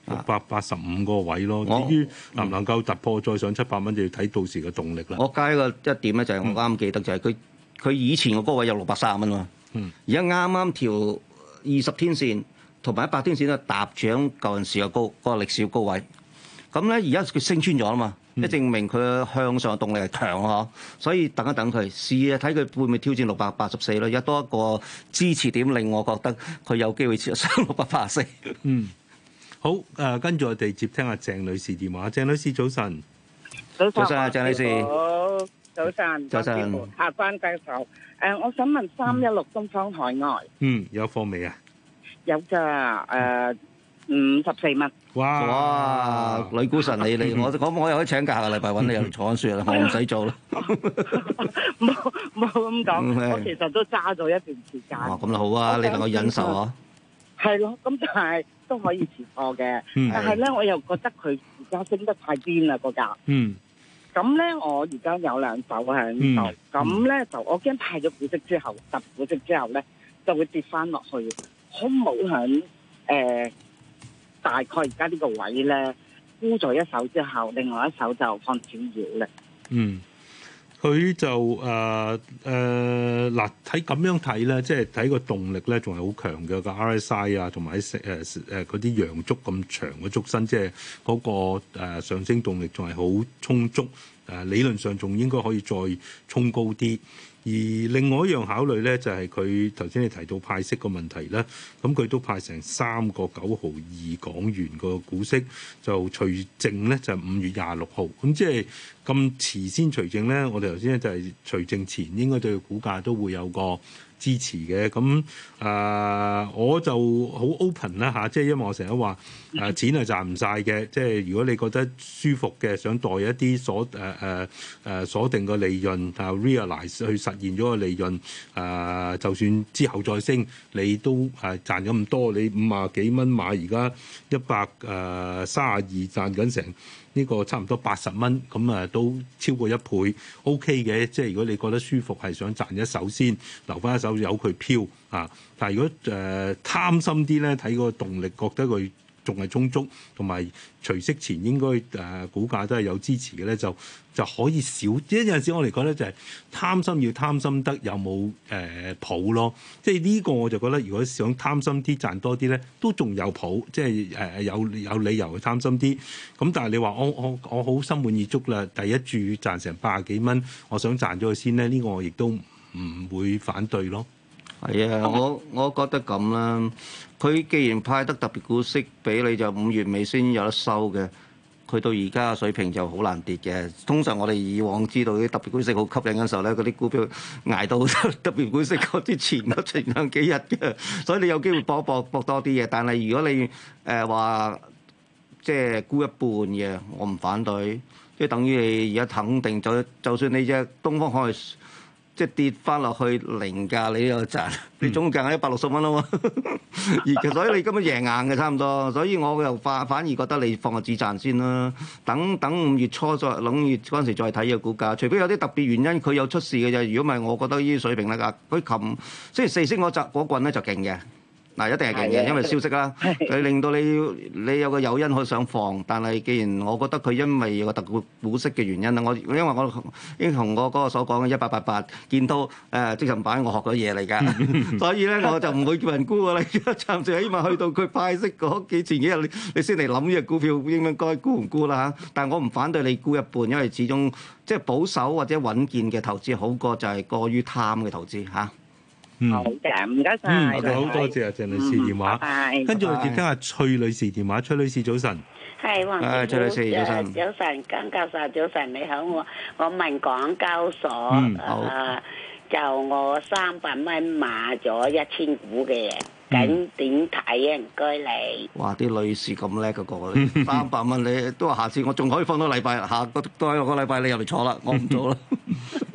六百八十五個位咯。 我至於能唔能夠突破再上七百蚊，就要睇到時嘅動力啦。 我加一個一點咧，就係我啱啱記得就係佢佢以前個高位有六百三十蚊嘛，而家啱啱調二十天線同埋一百天線咧搭住喺舊陣時嘅高嗰、嗰個歷史高位。咁咧而家佢升穿咗啦嘛，即、嗯、證明佢向上嘅動力係強咯，所以等一等佢試下睇佢會唔會挑戰六百八十四咯，而家多一個支持點令我覺得佢有機會上六百八十四。 嗯，好誒、呃，跟住我哋接聽下鄭女士電話。鄭女士早晨， 早晨， 早晨啊，鄭女士， 好，早晨， 早晨， 下關教授，誒，我想問三一六東方海外， 嗯，有貨未啊？ 有㗎，誒，五十四蚊。 哇！ 哇！女股神你你，我我我又可以請假下個禮拜揾你又坐緊雪啦，我唔使做啦。 冇冇咁講，我其實都揸咗一段時間。 哦，咁就好啊，你能夠忍受啊？ 係咯，咁但係都可以持貨嘅，但係咧我又覺得佢而家升得太癲啦個價。嗯。咁咧，我而家有兩手喺度，咁咧就我驚派咗股息之後，突股息之後咧就會跌翻落去，好唔好響誒？大概而家呢個位咧，沽咗一手之後，另外一手就放少少咧。嗯， 佢就誒誒嗱，睇咁樣睇咧，即係睇個動力咧，仲係好強嘅個 R S I 啊，同埋誒誒嗰啲陽燭咁長嘅燭身，即係嗰個誒上升動力仲係好充足。誒理論上仲應該可以再衝高啲。而另外一樣考慮咧，就係佢頭先你提到派息個問題咧，咁佢都派成三個九毫二港元個股息，就除淨咧就係五月廿六號，咁即係咁遲先除淨咧，我哋頭先咧就係除淨前應該對股價都會有個支持嘅。咁誒、呃、我就好 open 啦嚇，即係因為我成日話誒錢係賺唔晒嘅，即係如果你覺得舒服嘅，想袋一啲鎖誒誒誒鎖定個利潤啊 realize 去實現咗個利潤，誒、呃、就算之後再升，你都誒賺咗咁多，你五啊幾蚊買而家一百誒三啊二賺緊成。呢個差唔多八十蚊，咁啊都超過一倍 ，OK 嘅。即係如果你覺得舒服，係想賺一手先，留翻一手由佢飄啊。但係如果誒、呃、貪心啲咧，睇個動力，覺得佢仲係充足，同埋除息前應該誒、呃、股價都係有支持嘅咧，就就可以少。即係有陣時我嚟講咧，就係、是、貪心要貪心得有冇誒譜咯。即係呢個我就覺得，如果想貪心啲賺多啲咧，都仲有譜，即係誒、呃、有有理由去貪心啲。咁但係你話我我我好心滿意足啦，第一注賺成八十幾蚊，我想賺咗佢先咧，呢、這個我亦都唔會反對咯。 係啊，我我覺得咁啦。佢既然派得特別股息俾你，就五月尾先有得收嘅。佢到而家嘅水平就好難跌嘅。通常我哋以往知道啲特別股息好吸引嘅時候咧，嗰啲股票捱到特別股息嗰啲前嗰前兩幾日嘅，所以你有機會搏搏搏多啲嘅。但係如果你誒話、呃、即係沽一半嘅，我唔反對，即係等於你而家肯定就就算你隻東方海即係跌翻落去零價，你又賺，你總價係一百六十蚊啊嘛，而所以你根本贏硬嘅差唔多，所以我又反反而覺得你放個止賺先啦，等等五月初再諗月嗰陣時再睇個股價，除非有啲特別原因佢有出事嘅啫，如果唔係，我覺得呢啲水平咧，佢琴星期四升嗰集嗰棍咧就勁嘅。嗱，一定係勁嘅，因為消息啦，佢令到你你有個誘因可以想放，但係既然我覺得佢因為有個特股股息嘅原因啦，我因為我已經同我嗰個所講嘅一八八八見到誒即時版，我學咗嘢嚟㗎，所以咧我就唔會叫人沽㗎啦，暫時起碼去到佢派息嗰幾前幾日，你你先嚟諗呢隻股票應唔應該沽唔沽啦嚇。但係我唔反對你沽一半，因為始終即係保守或者穩健嘅投資好過就係過於貪嘅投資嚇。 好嘅，唔該晒。 嗯，好多謝啊，鄭女士電話。 嗯、 跟住我接聽下崔女士電話。崔女士早晨。 係黃師傅。 崔女士早晨。 早晨，江教授早晨，你好。我我問港交所， 嗯呃、就我三百蚊買咗一千股嘅，咁點睇啊？唔該你。 哇！啲女士咁叻嘅個，三百蚊你都話下次我仲可以放多禮拜，下個多一個禮拜你入嚟坐啦，我唔做啦。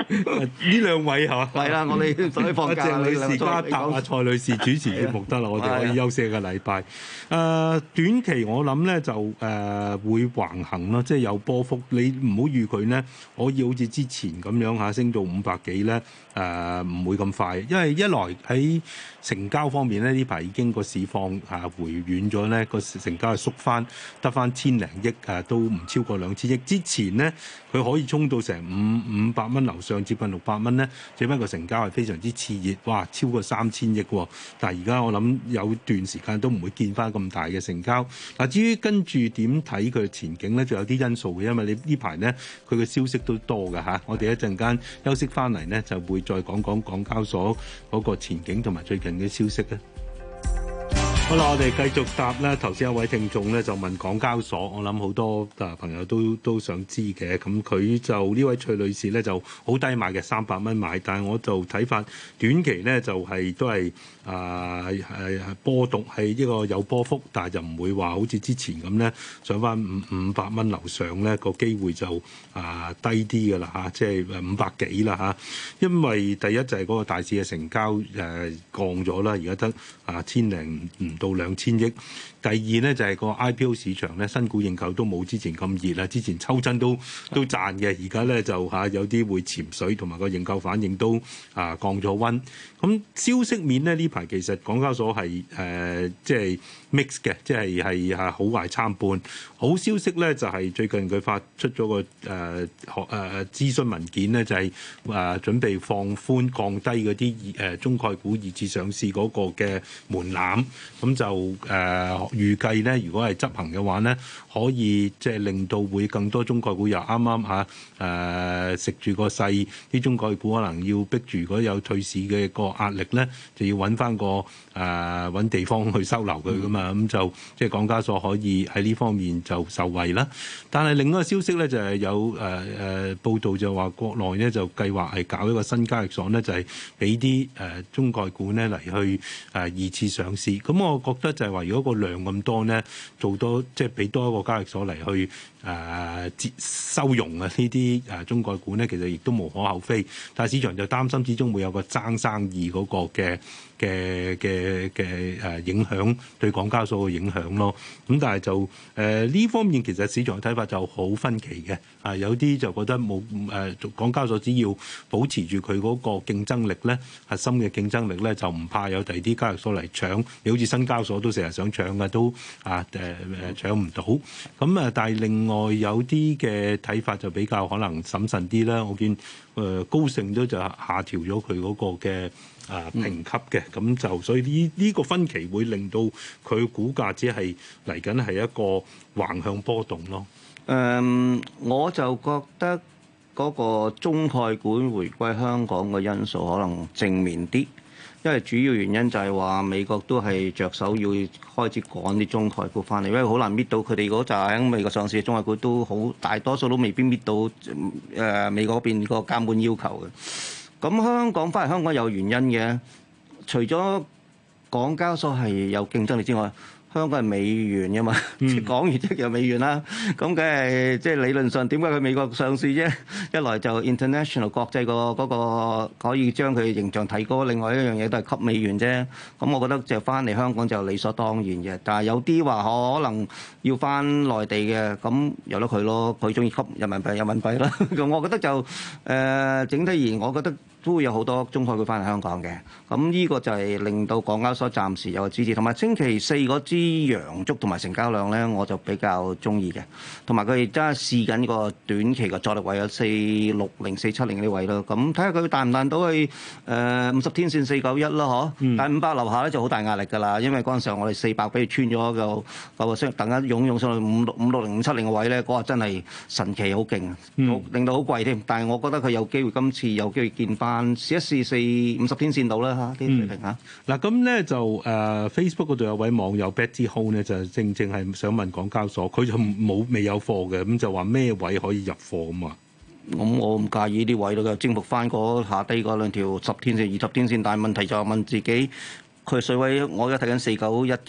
呢兩位係嘛？ 係啦，我哋所以放假。 鄭女士加答阿蔡女士主持節目得啦，我哋可以休息一個禮拜。誒、呃、短期我諗咧就誒、呃、會橫行咯，即係有波幅。你唔好預佢咧可以好似之前咁樣嚇升到五百幾咧，誒、呃、唔會咁快，因為一來喺成交方面咧呢排已經個市況啊回軟咗咧，個成交係縮翻得翻千零億誒，都唔超過兩千億。之前咧佢可以衝到成五五百蚊樓上，接近六百蚊咧，只不過成交係非常之熾熱，哇超過三千億喎！但係而家我諗有段時間都唔會見翻咁大嘅成交。嗱，至於跟住點睇佢嘅前景咧，仲有啲因素嘅，因為你呢排咧佢嘅消息都多㗎嚇。我哋一陣間休息翻嚟咧，就會再講講港交所嗰個前景同埋最近嘅消息咧。好啦，我哋繼續答啦。頭先一位聽眾咧就問港交所，我諗好多啊朋友都都想知嘅。咁佢就呢位崔女士咧就好低買嘅，三百蚊買，但係我就睇法短期咧就係、是、都係啊係波動，係呢個有波幅，但係就唔會話好似之前咁咧上翻五五百蚊樓上咧個機會就啊低啲㗎啦嚇，即係五百幾啦嚇。因為第一就係嗰個大市嘅成交誒、呃、降咗啦，而家得啊千零唔到兩千億。第二咧就係、是、個 I P O 市場咧，新股認購都冇之前咁熱啦。之前抽親都都賺嘅，而家咧就嚇、啊、有啲會潛水，同埋個認購反應都啊降咗溫。咁消息面咧呢排其實港交所係誒即係 mix 嘅，即係係係好壞參半。好消息咧就係、是、最近佢發出咗個誒學誒諮詢文件咧，就係、是、誒、呃、準備放寬降低嗰啲誒中概股二次上市嗰個嘅門檻。咁就誒、呃、預計咧，如果係執行嘅話咧，可以即係令到會更多中概股又啱啱嚇誒食住個勢，啲中概股可能要逼住，如果有退市嘅個壓力咧，就要揾翻個誒揾、呃、地方去收留佢噶嘛。咁、嗯、就即係港交所可以喺呢方面就受惠啦。但係另一個消息咧就係、是、有誒誒、呃、報道就話國內咧就計劃係搞一個新交易所咧，就係俾啲誒中概股咧嚟去誒、呃、二次上市。咁我覺得就係話，如果個量咁多咧，做多即係俾多一個交易所嚟去誒、呃、收容啊呢啲誒中概股咧，其實亦都無可厚非。但係市場就擔心，始終會有個爭生意嗰個嘅嘅嘅嘅誒影響對港交所嘅影響咯。咁但係就誒呢、呃、方面其實市場嘅睇法就好分歧嘅。啊，有啲就覺得冇誒、呃、港交所只要保持住佢嗰個競爭力咧，核心嘅競爭力咧，就唔怕有第二啲交易所嚟搶。你好似新交所都成日想搶嘅，都啊誒誒搶唔到。咁啊，但係另外有啲嘅睇法就比較可能審慎啲啦。我見誒、呃、高盛都就下調咗佢嗰個嘅啊評級嘅，咁、嗯、就所以呢呢個分歧會令到佢股價只係嚟緊係一個橫向波動咯。 誒、嗯，我就覺得嗰個中概股回歸香港嘅因素可能正面啲，因為主要原因就係話美國都係着手要開始趕啲中概股翻嚟，因為好難搣到佢哋嗰扎喺美國上市嘅中概股都好大多數都未必搣到誒、呃、美國嗰邊個監管要求嘅。咁香港翻嚟香港有原因嘅，除咗港交所係有競爭力之外，香港係美元嘅嘛，嗯、港元即係有美元啦。咁梗係即係理論上點解佢美國上市啫？一來就 international 國際個嗰個可以將佢形象提高，另外一樣嘢都係吸美元啫。咁我覺得就翻嚟香港就理所當然嘅。但係有啲話可能要翻內地嘅，咁由得佢咯。佢中意吸人民幣，人民幣啦。咁我覺得就誒、呃、整體而言，我覺得都會有好多中概股翻嚟香港嘅。咁呢個就係令到港交所暫時有個支持，同埋星期四嗰支陽燭同埋成交量咧，我就比較中意嘅。同埋佢哋真係試緊個短期嘅阻力位有四六零、四七零呢位咯。咁睇下佢彈唔彈到去誒五十天線四九一咯，嗬、嗯。但係五百樓下咧就好大壓力㗎啦，因為嗰陣時候我哋四百俾佢穿咗個個個升，突然間湧湧上去五六五六零五七零嘅位咧，嗰、那個真係神奇好勁，嗯、令到好貴添。但係我覺得佢有機會今次有機會見翻試一試四五十天線度啦嚇，啲水平嚇。 嗱咁咧就誒、uh, Facebook 嗰度有位網友 Betty Ho 咧就正正係想問港交所，佢就冇未有貨嘅，咁就話咩位可以入貨咁啊？ 咁我唔介意啲位咯，征服翻嗰下低嗰兩條十天線、二十天線，但係問題就係問自己，佢水位我而家睇緊四九一啫。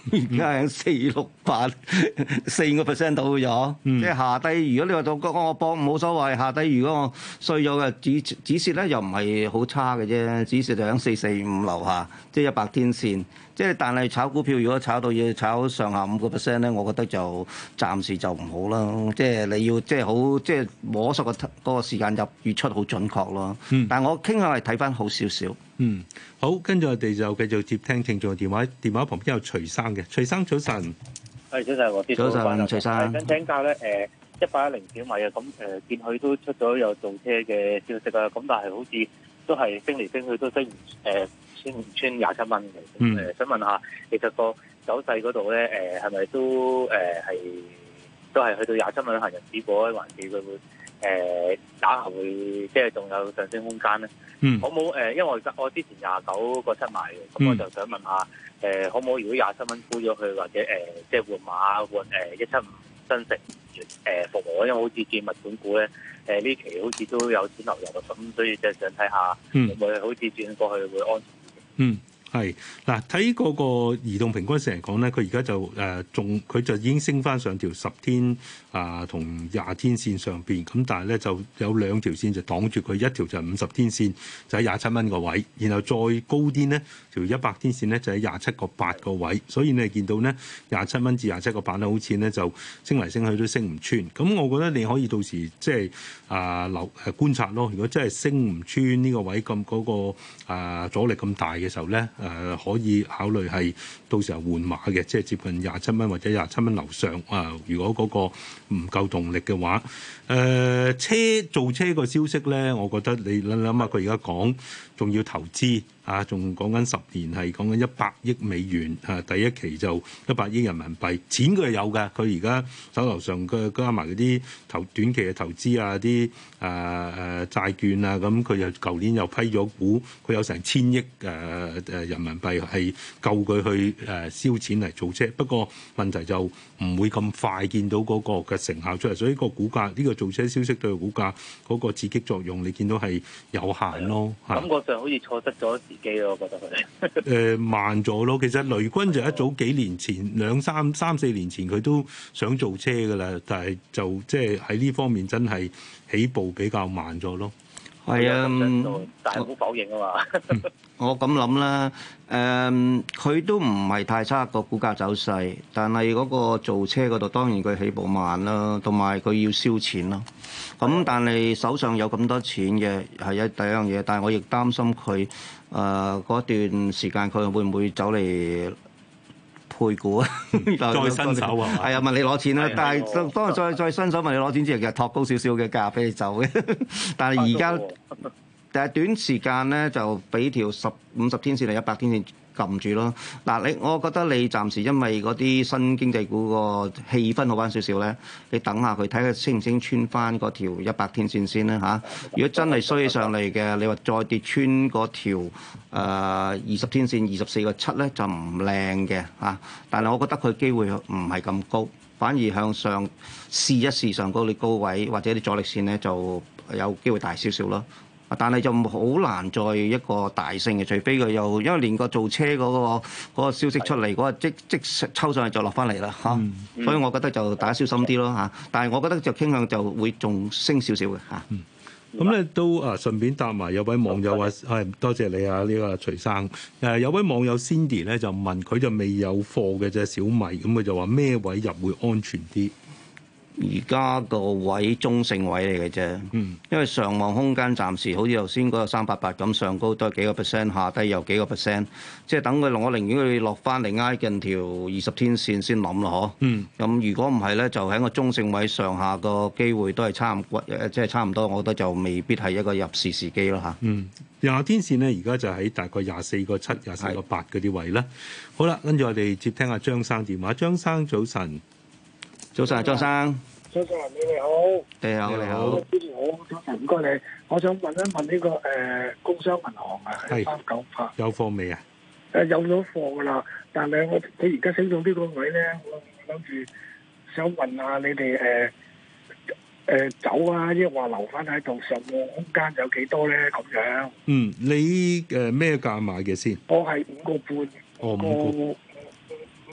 而家係四六八四個 percent 到咗，嗯、即係下低。如果你話到我我博冇所謂，下低如果我衰咗嘅止止蝕咧，又唔係好差嘅啫，止蝕就喺四四五樓下，即係一百天線。即係但係炒股票，如果炒到要炒上下五個 percent 咧，我覺得就暫時就唔好啦。即係你要即係好即係摸索個嗰個時間入月出好準確咯。嗯、但係我傾向係睇翻好少少。 嗯，好，跟住我哋就繼續接聽聽眾電話，電話旁邊有徐生嘅，徐生早晨。 係早晨，我啲早晨，徐生。 想請教咧，誒一八一零小米啊，咁誒見佢都出咗有造車嘅消息啊，咁但係好似都係升嚟升去都升唔誒穿唔穿廿七蚊嘅。嗯。誒想問下，其實個走勢嗰度咧，誒係咪都誒係都係去到廿七蚊行人止步咧，還是佢會誒打後會即係仲有上升空間咧？嗯。可冇誒？因為我我之前廿九個七買嘅，咁我就想問下。誒可唔可以如果廿七蚊沽咗佢，或者誒、呃、即係換馬換誒一七五新城誒服務，因為好似見物管股咧誒呢期好似都有錢流入，咁所以就想睇下會唔會好似轉過去會安全啲。嗯。 係嗱，睇嗰個移動平均線嚟講咧，佢而家就誒仲佢就已經升翻上條十天啊同廿天線上邊，咁但係咧就有兩條線就擋住佢，一條就係五十天線就喺廿七蚊個位，然後再高啲呢條一百天線咧就喺廿七個八個位，所以你見到咧廿七蚊至廿七個八咧，好似咧就升嚟升去都升唔穿。咁我覺得你可以到時即係啊留誒觀察咯。如果真係升唔穿呢個位咁嗰、嗰個啊阻力咁大嘅時候咧。誒、呃、可以考慮係到時候換馬嘅，即係接近廿七蚊或者廿七蚊樓上啊、呃。如果嗰個唔夠動力嘅話，誒、呃、車造車個消息咧，我覺得你諗諗下，佢而家講仲要投資。啊，仲講緊十年係講緊一百億美元，啊第一期就一百億人民幣，錢佢係有㗎，佢而家手頭上嘅加埋嗰啲投短期嘅投資啊，啲誒誒債券啊，咁佢又舊年又批咗股，佢有成千億誒誒人民幣係夠佢去誒燒錢嚟做車，不過問題就唔會咁快見到嗰個嘅成效出嚟，所以個股價呢、呢個造車消息對個股價嗰個刺激作用，你見到係有限咯。 感覺上好似錯失咗時機咯，我覺得佢誒慢咗咯。其實雷軍就一早幾年前兩三三四年前佢都想做車㗎啦，但係就即係喺呢方面真係起步比較慢咗咯。 係啊， 但係好否認啊嘛。 我咁諗啦，誒、嗯，佢都唔係太差個股價走勢，但係嗰個造車嗰度當然佢起步慢啦，同埋佢要燒錢咯。咁但係手上有咁多錢嘅係一第一樣嘢，但係我亦擔心佢誒嗰段時間佢會唔會走嚟配股啊？ 再伸手啊？ 係啊，問你攞錢啦，但係當日再再伸手問你攞錢之後，其實托高少少嘅價俾你走嘅。但係而家但係短時間咧就俾條十五十天線定一百天線撳住咯。嗱，你我覺得你暫時因為嗰啲新經濟股個氣氛好翻少少咧，你等下佢睇下升唔升穿翻嗰條一百天線先啦嚇。如果真係衰起上嚟嘅，你話再跌穿嗰條誒二十天線二十四個七咧就唔靚嘅嚇。但係我覺得佢機會唔係咁高，反而向上試一試上高啲高位或者啲阻力線咧就有機會大少少咯。但係就好難再一個大升嘅，除非佢又因為連個造車嗰、嗰個嗰個消息出嚟，嗰個即即抽上去就落翻嚟啦嚇，嗯嗯、所以我覺得就大家小心啲咯嚇。但係我覺得就傾向就會仲升少少嘅嚇。 咁咧、嗯、都啊順便答埋有位網友話係多謝你啊呢、呢個徐生誒有位網友 Cindy 咧就問佢就未有貨嘅啫小米，咁佢就話咩位入會安全啲？ 而家個位中性位嚟嘅啫，嗯、因為上望空間暫時好似頭先嗰個三八八咁，上高都係幾個 percent， 下低又幾個 percent， 即係等佢落，我寧願佢落翻嚟挨近條二十天線先諗咯，嗬。咁、嗯、如果唔係咧，就喺個中性位上下個機會都係差唔誒，即係差唔多，我覺得就未必係一個入市時機咯嚇。 嗯，廿天線咧，而家就喺大概廿四個七、廿四個八嗰啲位啦。好啦，跟住我哋接聽下張生電話。張生早晨。 早晨，張生。 早晨，你哋好。 你好，你好。 主持好，早晨，唔該你。我想問一問呢、這個誒、呃、工商銀行啊，係三九八。 有貨未啊？ 誒、呃，有咗貨噶啦，但係我佢而家升到呢個位咧，我諗住想問下你哋誒誒走啊，抑或留翻喺度，上望空間有幾多咧？咁樣。 嗯，你誒咩價買嘅先？ 我係五個半。 哦，五個。 五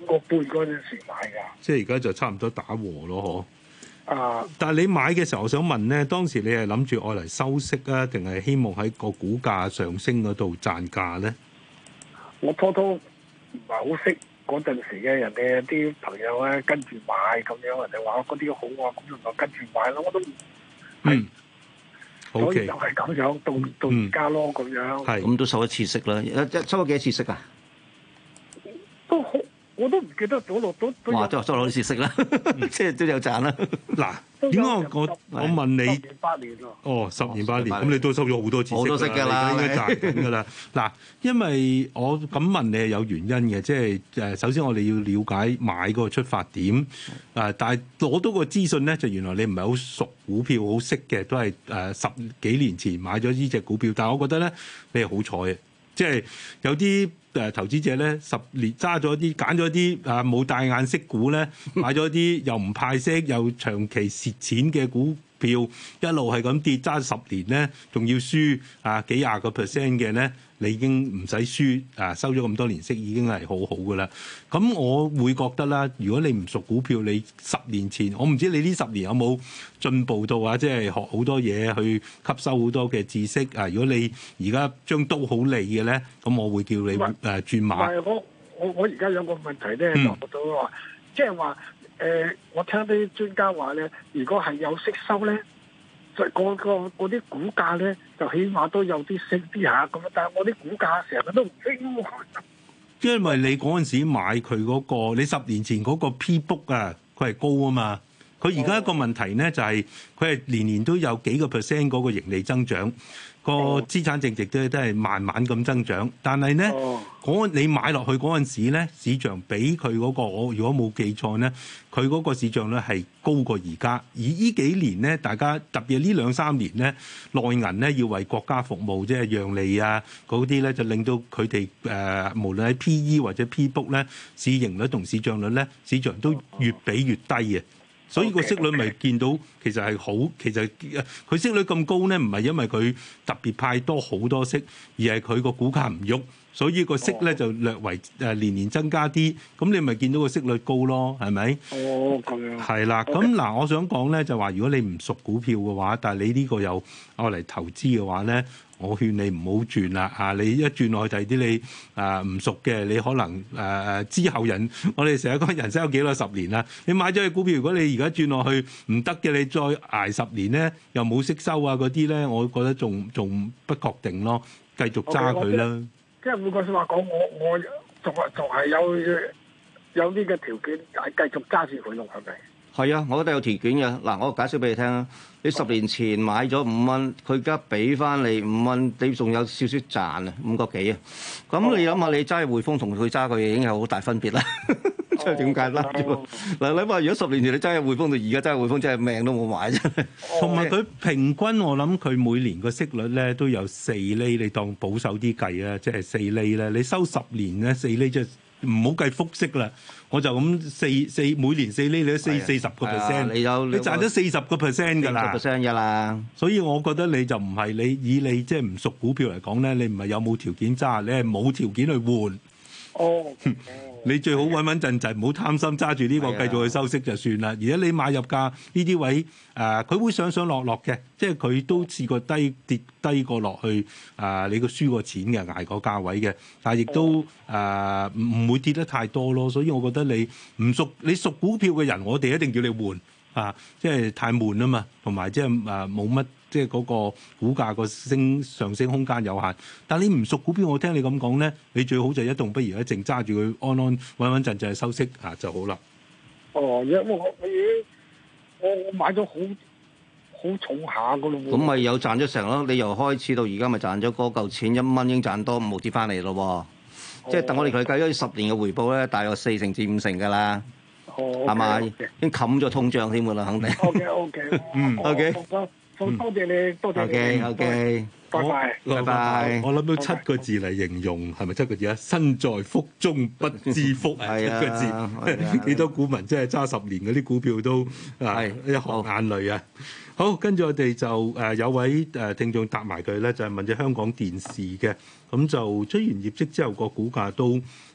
個半嗰陣時買㗎。 即係而家就差唔多打和咯，嗬。 啊！ 但係你買嘅時候，我想問咧，當時你係諗住愛嚟收息啊，定係希望喺個股價上升嗰度賺價咧？ 我初初唔係好識嗰陣時嘅人哋啲朋友咧，跟住買咁樣，人哋話嗰啲好啊，咁就跟住買咯。我都嗯， 所以就係咁樣，到到而家咯咁樣。 係咁都收一次息啦，一一收咗幾多次息啊？ 都好。我都唔記得咗落都都。 哇！都收攞啲息啦，即係都有賺啦。 嗱，點解我我我問你？ 十年八年咯。 哦，十年八年，咁你都收咗好多次息啦。 好多息㗎啦， 應該賺緊㗎啦。嗱，因為我咁問你係有原因嘅，即係誒，首先我哋要了解買嗰個出發點。誒，但係攞到個資訊咧，就原來你唔係好熟股票，好識嘅，都係誒十幾年前買咗呢隻股票。但係我覺得咧，你係好彩嘅，即係有啲。誒投資者咧十年揸咗啲揀咗啲啊冇大眼息股咧，買咗啲又唔派息又長期蝕錢嘅股票，一路係咁跌揸十年咧，仲要輸啊幾廿個 percent 嘅咧，你已經唔使輸啊，收咗咁多年息已經係好好噶啦。咁我會覺得啦，如果你唔熟股票，你十年前我唔知你呢十年有冇進步到啊，即係學好多嘢去吸收好多嘅知識啊。如果你而家將刀好利嘅咧，咁我會叫你誒轉馬。 唔係我我我而家有個問題咧，就到話，即係話誒，我聽啲專家話咧，如果係有息收咧，就嗰個嗰啲股價咧，就起碼都有啲升啲下咁。但係我啲股價成日都唔升。 因為你嗰陣時買佢嗰個，你十年前嗰個 P book 啊，佢係高啊嘛。佢而家一個問題咧就係佢係年年都有幾個 percent 嗰個盈利增長，個資產淨值都都係慢慢咁增長。但係咧，嗰你買落去嗰陣時咧，市場比佢嗰個，我如果冇記錯咧，佢嗰個市場咧係高過而家。而呢幾年咧，大家特別係呢兩三年咧，內銀咧要為國家服務，即係讓利啊嗰啲咧，就令到佢哋誒無論喺 P E 或者 P book 咧，市盈率同市賬率咧，市場都越比越低嘅。所以個息率咪見到其實係好，其實佢息率咁高咧，唔係因為佢特別派多好多息，而係佢個股價唔喐，所以個息咧就略為誒年年增加啲，咁你咪見到個息率高咯，係咪？ 哦，咁樣。 係啦，咁嗱，我想講咧就話，如果你唔熟股票嘅話，但係你呢個又愛嚟投資嘅話咧，我勸你唔好轉啦啊！你一轉落去第啲你啊唔熟嘅，你可能誒誒、啊、之後人，我哋成日講人生有幾多十年啦。你買咗隻股票，如果你而家轉落去唔得嘅，你再捱十年咧，又冇息收啊嗰啲咧，我覺得仲仲不確定咯，繼續揸佢啦。 即係換句説話講，我我仲係仲係有有呢個條件係繼續揸住佢用係咪？ 係啊，我覺得有條件嘅。嗱，我解釋俾你聽啊。你十年前買咗五蚊，佢而家俾翻你五蚊，你仲有少少賺啊，五個幾啊。咁你諗下，你揸匯豐同佢揸佢已經有好大分別啦。即係點解啦？嗱，你話如果十年前你揸匯豐到而家揸匯豐，真係命都冇買啫。 同埋佢平均，我諗佢每年個息率咧都有四厘，你當保守啲計啊，即係四厘咧。你收十年咧四厘即係。唔好計複息啦，我就咁四四每年四厘，你都四四十個 percent，你有你賺咗四十個 percent 㗎啦 percent 㗎啦。 所以我覺得你就唔係你以你即係唔熟股票嚟講咧，你唔係有冇條件揸，你係冇條件去換。 哦。 你最好穩穩陣陣，唔好貪心揸住呢個繼續去收息就算啦。而家你買入價呢啲位，誒、呃、佢會上上落落嘅，即係佢都試過低跌低過落去，啊、呃、你個輸過錢嘅捱過價位嘅，但係亦都誒唔唔會跌得太多咯。所以我覺得你唔熟你熟股票嘅人，我哋一定叫你換啊，即係太悶啊嘛，同埋即係誒冇乜。即係嗰個股價個升上升空間有限，但係你唔熟股票，我聽你咁講咧，你最好就一動不如一靜揸住佢，安安穩穩陣陣收息啊就好啦。 哦，因為我我已經我我買咗好好重下噶咯喎。 咁咪有賺咗成咯？你由開始到而家咪賺咗嗰嚿錢一蚊，已經賺多五毫紙翻嚟咯喎。哦、即係等我哋佢計咗十年嘅回報咧，大約四成至五成㗎啦。哦，係咪？已經冚咗通脹添㗎啦，肯定。 OK OK， 嗯 OK。 多謝你，多謝你。 O K O K， 拜拜， 拜拜。 我諗到七個字嚟形容，係咪七個字啊？身在福中不知福係七個字。幾多股民真係揸十年嗰啲股票都啊一行眼淚啊！好，跟住我哋就誒有位誒聽眾答埋佢咧，就係問咗香港電視嘅，咁就出完業績之後個股價都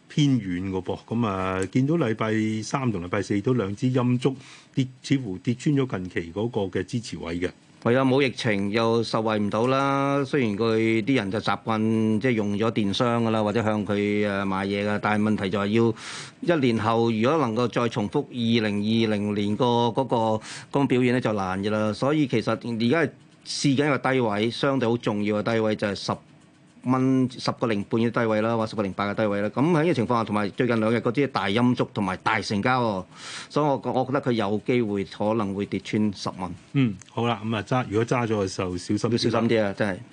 偏遠嘅噃。咁啊，見到禮拜三同禮拜四都兩支陰燭跌，似乎跌穿咗近期嗰個嘅支持位嘅。 係啊，冇疫情又受惠唔到啦。雖然佢啲人就習慣即係用咗電商噶啦，或者向佢誒買嘢噶，但係問題就係要一年後，如果能夠再重複二零二零年個嗰個嗰個表現咧，就難嘅啦。所以其實而家係試緊一個低位，相對好重要嘅低位就係十蚊十個零半嘅低位啦，或十個零八嘅低位啦。咁喺呢個情況下，同埋最近兩日嗰啲大陰燭同埋大成交喎，所以我我覺得佢有機會可能會跌穿十蚊。 嗯，好啦，咁啊揸，如果揸咗嘅時候小心， 要小心啲啊！真係。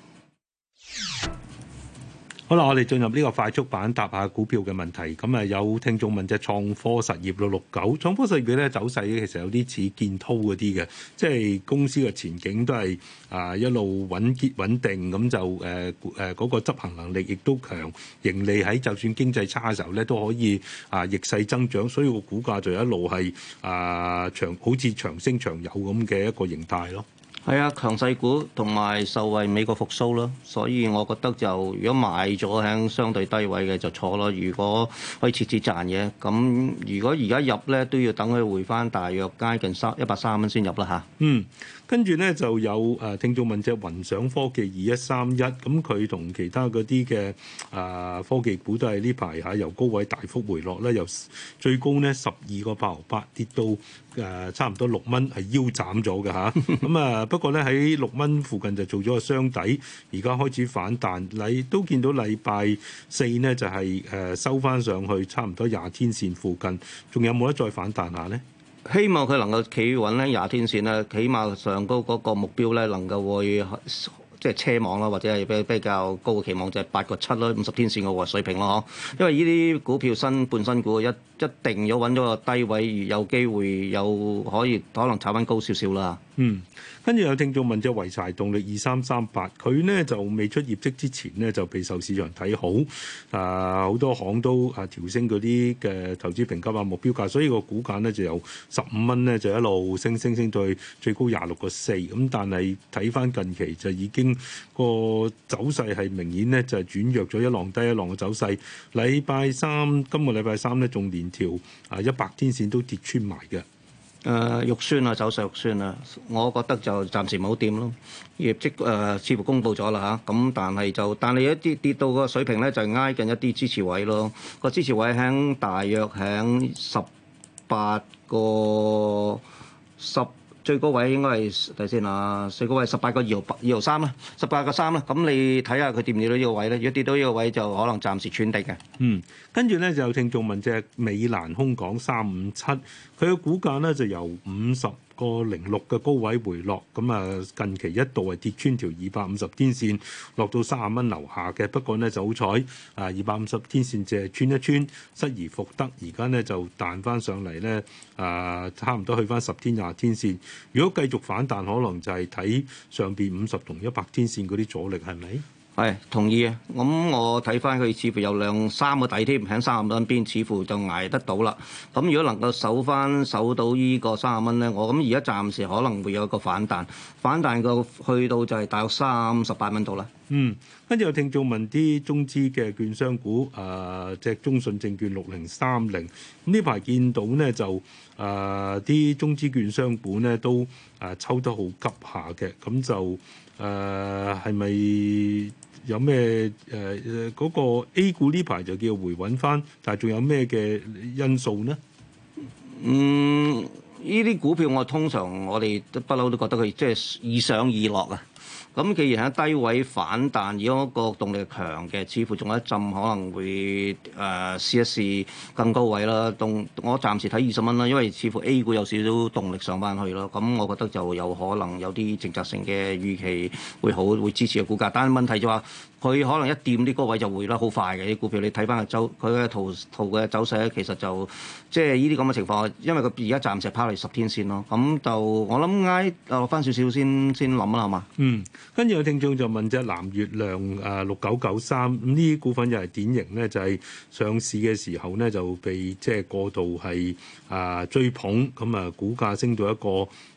好啦，我哋進入呢個快速版答下股票嘅問題。咁啊，有聽眾問隻創科實業六六九，創科實業咧走勢咧其實有啲似建滔嗰啲嘅，即係公司嘅前景都係啊一路穩結穩定，咁就誒誒嗰個執行能力亦都強，盈利喺就算經濟差嘅時候咧都可以啊逆勢增長，所以個股價就一路係啊長好似長升長有咁嘅一個形態咯。 係啊，強勢股同埋受惠美國復甦咯，所以我覺得就如果買咗喺相對低位嘅就錯咯。如果可以設置賺嘅，咁如果而家入咧都要等佢回翻大約接近三一百三蚊先入啦嚇。 嗯。跟住咧就有誒聽眾問隻雲想科技二一三一，咁佢同其他嗰啲嘅誒科技股都係呢排嚇由高位大幅回落咧，由最高呢十二個八毫八跌到誒、呃、差唔多六蚊，係腰斬咗嘅嚇。咁啊不過咧喺六蚊附近就做咗個雙底，而家開始反彈。你都見到禮拜四呢就係、是、誒收翻上去，差唔多廿天線附近，仲有冇得再反彈下呢？ 希望佢能夠企穩咧廿天線咧，起碼上高嗰個目標咧能夠會即係車網啦，或者係比比較高嘅期望就係八個七啦，五十天線嘅水平咯，嗬。因為呢啲股票新半新股一一定要揾咗個低位，有機會有可以可能炒翻高少少啦。 嗯，跟住有聽眾問隻濰柴動力二三三八，佢呢就未出業績之前呢就備受市場睇好，啊、呃、好多行都啊調升嗰啲嘅投資評級啊目標價，所以個股價呢就由十五蚊呢就一路升升升到去最高廿六個四，咁但係睇翻近期就已經個走勢係明顯呢就係轉弱咗，一浪低一浪嘅走勢。禮拜三今個禮拜三呢仲連條啊一百天線都跌穿埋嘅。 誒、呃、肉酸啊，走勢肉酸啊，我覺得就暫時唔好掂咯。業績誒、呃、似乎公佈咗啦嚇，咁但係就但係一啲跌到個水平咧，就係挨近一啲支持位咯。個支持位喺大約喺十八個十。最高位應該係睇先啊，最高位十八個二毫八二毫三啦，十八個三啦。咁你睇下佢跌唔跌到呢個位咧？如果跌到呢個位，就可能暫時穿定嘅。 嗯，跟住咧就有聽眾問隻美蘭空港三五七，佢嘅股價咧就由五十個零六嘅高位回落，咁啊近期一度係跌穿條二百五十天線，落到三十蚊樓下嘅。不過呢，就好彩啊，二百五十天線淨係穿一穿，失而復得，而家呢，就彈翻上嚟咧啊，差唔多去翻十天廿天線。如果繼續反彈，可能就係睇上邊五十同一百天線嗰啲阻力，係咪？ 係同意啊！咁我睇翻佢似乎有兩三個底添，喺三十蚊邊，似乎就捱得到啦。咁如果能夠守翻守到依個三十蚊咧，我諗而家暫時可能會有一個反彈，反彈個去到就係大約三十八蚊度啦。 嗯，跟住有聽眾問啲中資嘅券商股，誒隻中信證券六零三零，咁呢排見到呢，就誒啲、呃、中資券商股呢都誒、呃、抽得好急下嘅，咁就誒係咪？有咩誒誒嗰個 A 股呢排就叫回穩翻，但係仲有咩嘅因素呢？ 嗯，呢啲股票我通常我哋都不嬲都覺得佢即係易上易落啊。咁既然喺低位反彈，如果個動力強嘅，似乎仲有一陣可能會誒、呃、試一試更高位啦。動我暫時睇二十蚊啦，因為似乎 A 股有少少動力上翻去咯。咁我覺得就有可能有啲政策性嘅預期會好，會支持個股價。但係問題就話佢可能一掂啲高位就回得好快嘅啲股票。你睇翻個走佢嘅圖圖嘅走勢咧，其實就即係呢啲咁嘅情況，因為佢而家暫時拋嚟十天線咯。咁就我諗挨落翻少少先先諗啦，係嘛？ 嗯。跟住有聽眾就問隻藍月亮誒六九九三，咁呢啲股份又係典型咧，就係上市嘅時候咧就被即係過度係啊追捧，咁啊股價升到一個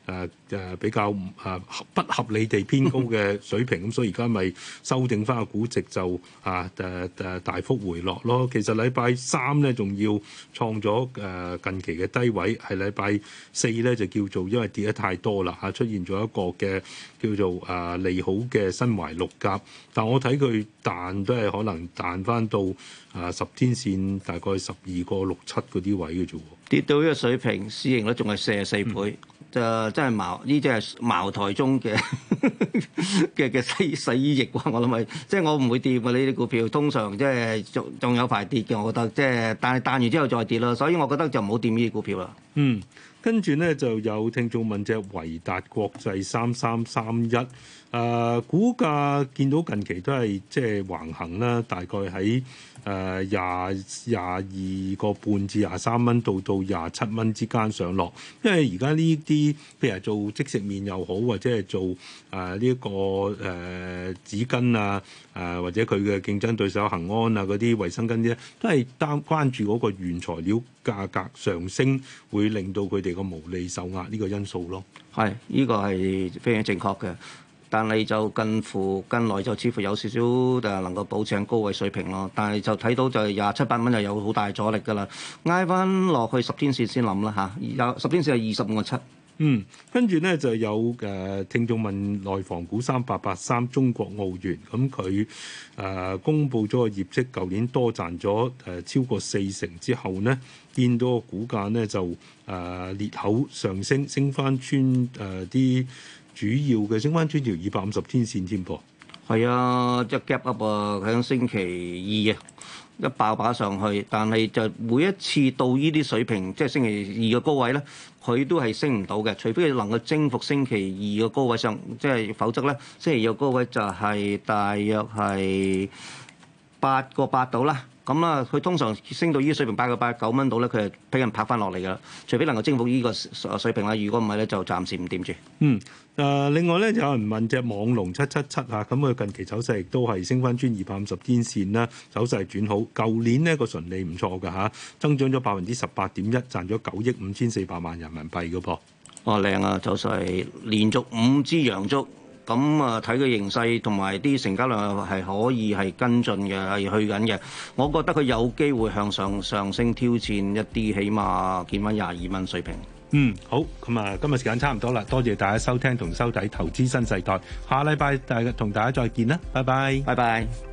誒誒比較誒不合理地偏高嘅水平，咁所以而家咪修正翻個估值就啊誒誒大幅回落咯。其實禮拜三咧仲要創咗誒近期嘅低位，係禮拜四咧就叫做因為跌得太多啦嚇，出現咗一個嘅叫做誒利好嘅身懷六甲，但我睇佢彈都係可能彈翻到啊十天線大概十二個六七嗰啲位嘅啫喎， 跌到呢個水平，市盈率仲係四十四倍。嗯就真係茅呢啲係茅台中嘅嘅嘅洗洗衣液喎，我諗係即係我唔會掂嘅呢啲股票，通常即係仲仲有排跌嘅，我覺得即係但係彈完之後再跌咯，所以我覺得就唔好掂呢啲股票啦。 嗯，跟住咧就有聽眾問隻維達國際三三三一，誒股價見到近期都係即係橫行啦，大概喺誒廿廿二個半至廿三蚊到到廿七蚊之間上落，因為而家呢啲譬如做即食麵又好，或者係做誒呢一個誒、呃、紙巾啊，誒、呃、或者佢嘅競爭對手恒安啊嗰啲衛生巾咧，都係擔關注嗰個原材料價格上升，會令到佢哋個毛利受壓呢個因素咯。 係，呢個係非常正確嘅。但係就近乎近來就似乎有少少誒能夠保持喺高位水平咯，但係就睇到就廿七八蚊就有好大阻力㗎啦，挨翻落去十天線先諗啦嚇，有十天線係二十五個七。 嗯，跟住咧就有誒、呃、聽眾問內房股三八八三中國奧園，咁佢誒公佈咗個業績，舊年多賺咗誒、呃、超過四成之後呢，見到個股價呢就誒、呃、裂口上升，升翻穿誒啲。呃主要嘅升翻穿條二百五十天線添噃， 係啊，即係 gap up 啊，喺星期二啊，一爆把上去，但係就每一次到呢啲水平，即係星期二嘅高位咧，佢都係升唔到嘅，除非佢能夠征服星期二嘅高位上，即係否則咧，星期二嘅高位就係大約係八個八度啦。咁啦，佢通常升到呢個水平八個八九蚊度咧，佢係俾人拍翻落嚟㗎啦。除非能夠征服呢個水平啦，如果唔係咧，就暫時唔掂住。 嗯，誒、呃，另外咧，有人問隻網龍七七七啊，咁佢近期走勢亦都係升翻穿二百五十天線啦，走勢轉好。舊年呢個純利唔錯㗎嚇，增長咗百分之十八點一，賺咗九億五千四百萬人民幣㗎噃。 哇，靚啊！走勢連續五支陽燭。咁啊，睇佢形勢同埋啲成交量係可以係跟進嘅，係去緊嘅。我覺得佢有機會向上上升，挑戰一啲，起碼見翻廿二蚊水平。 嗯，好，咁啊，今日時間差唔多啦，多謝大家收聽同收睇《投資新世代》，下禮拜大同大家再見啦，拜拜， 拜拜。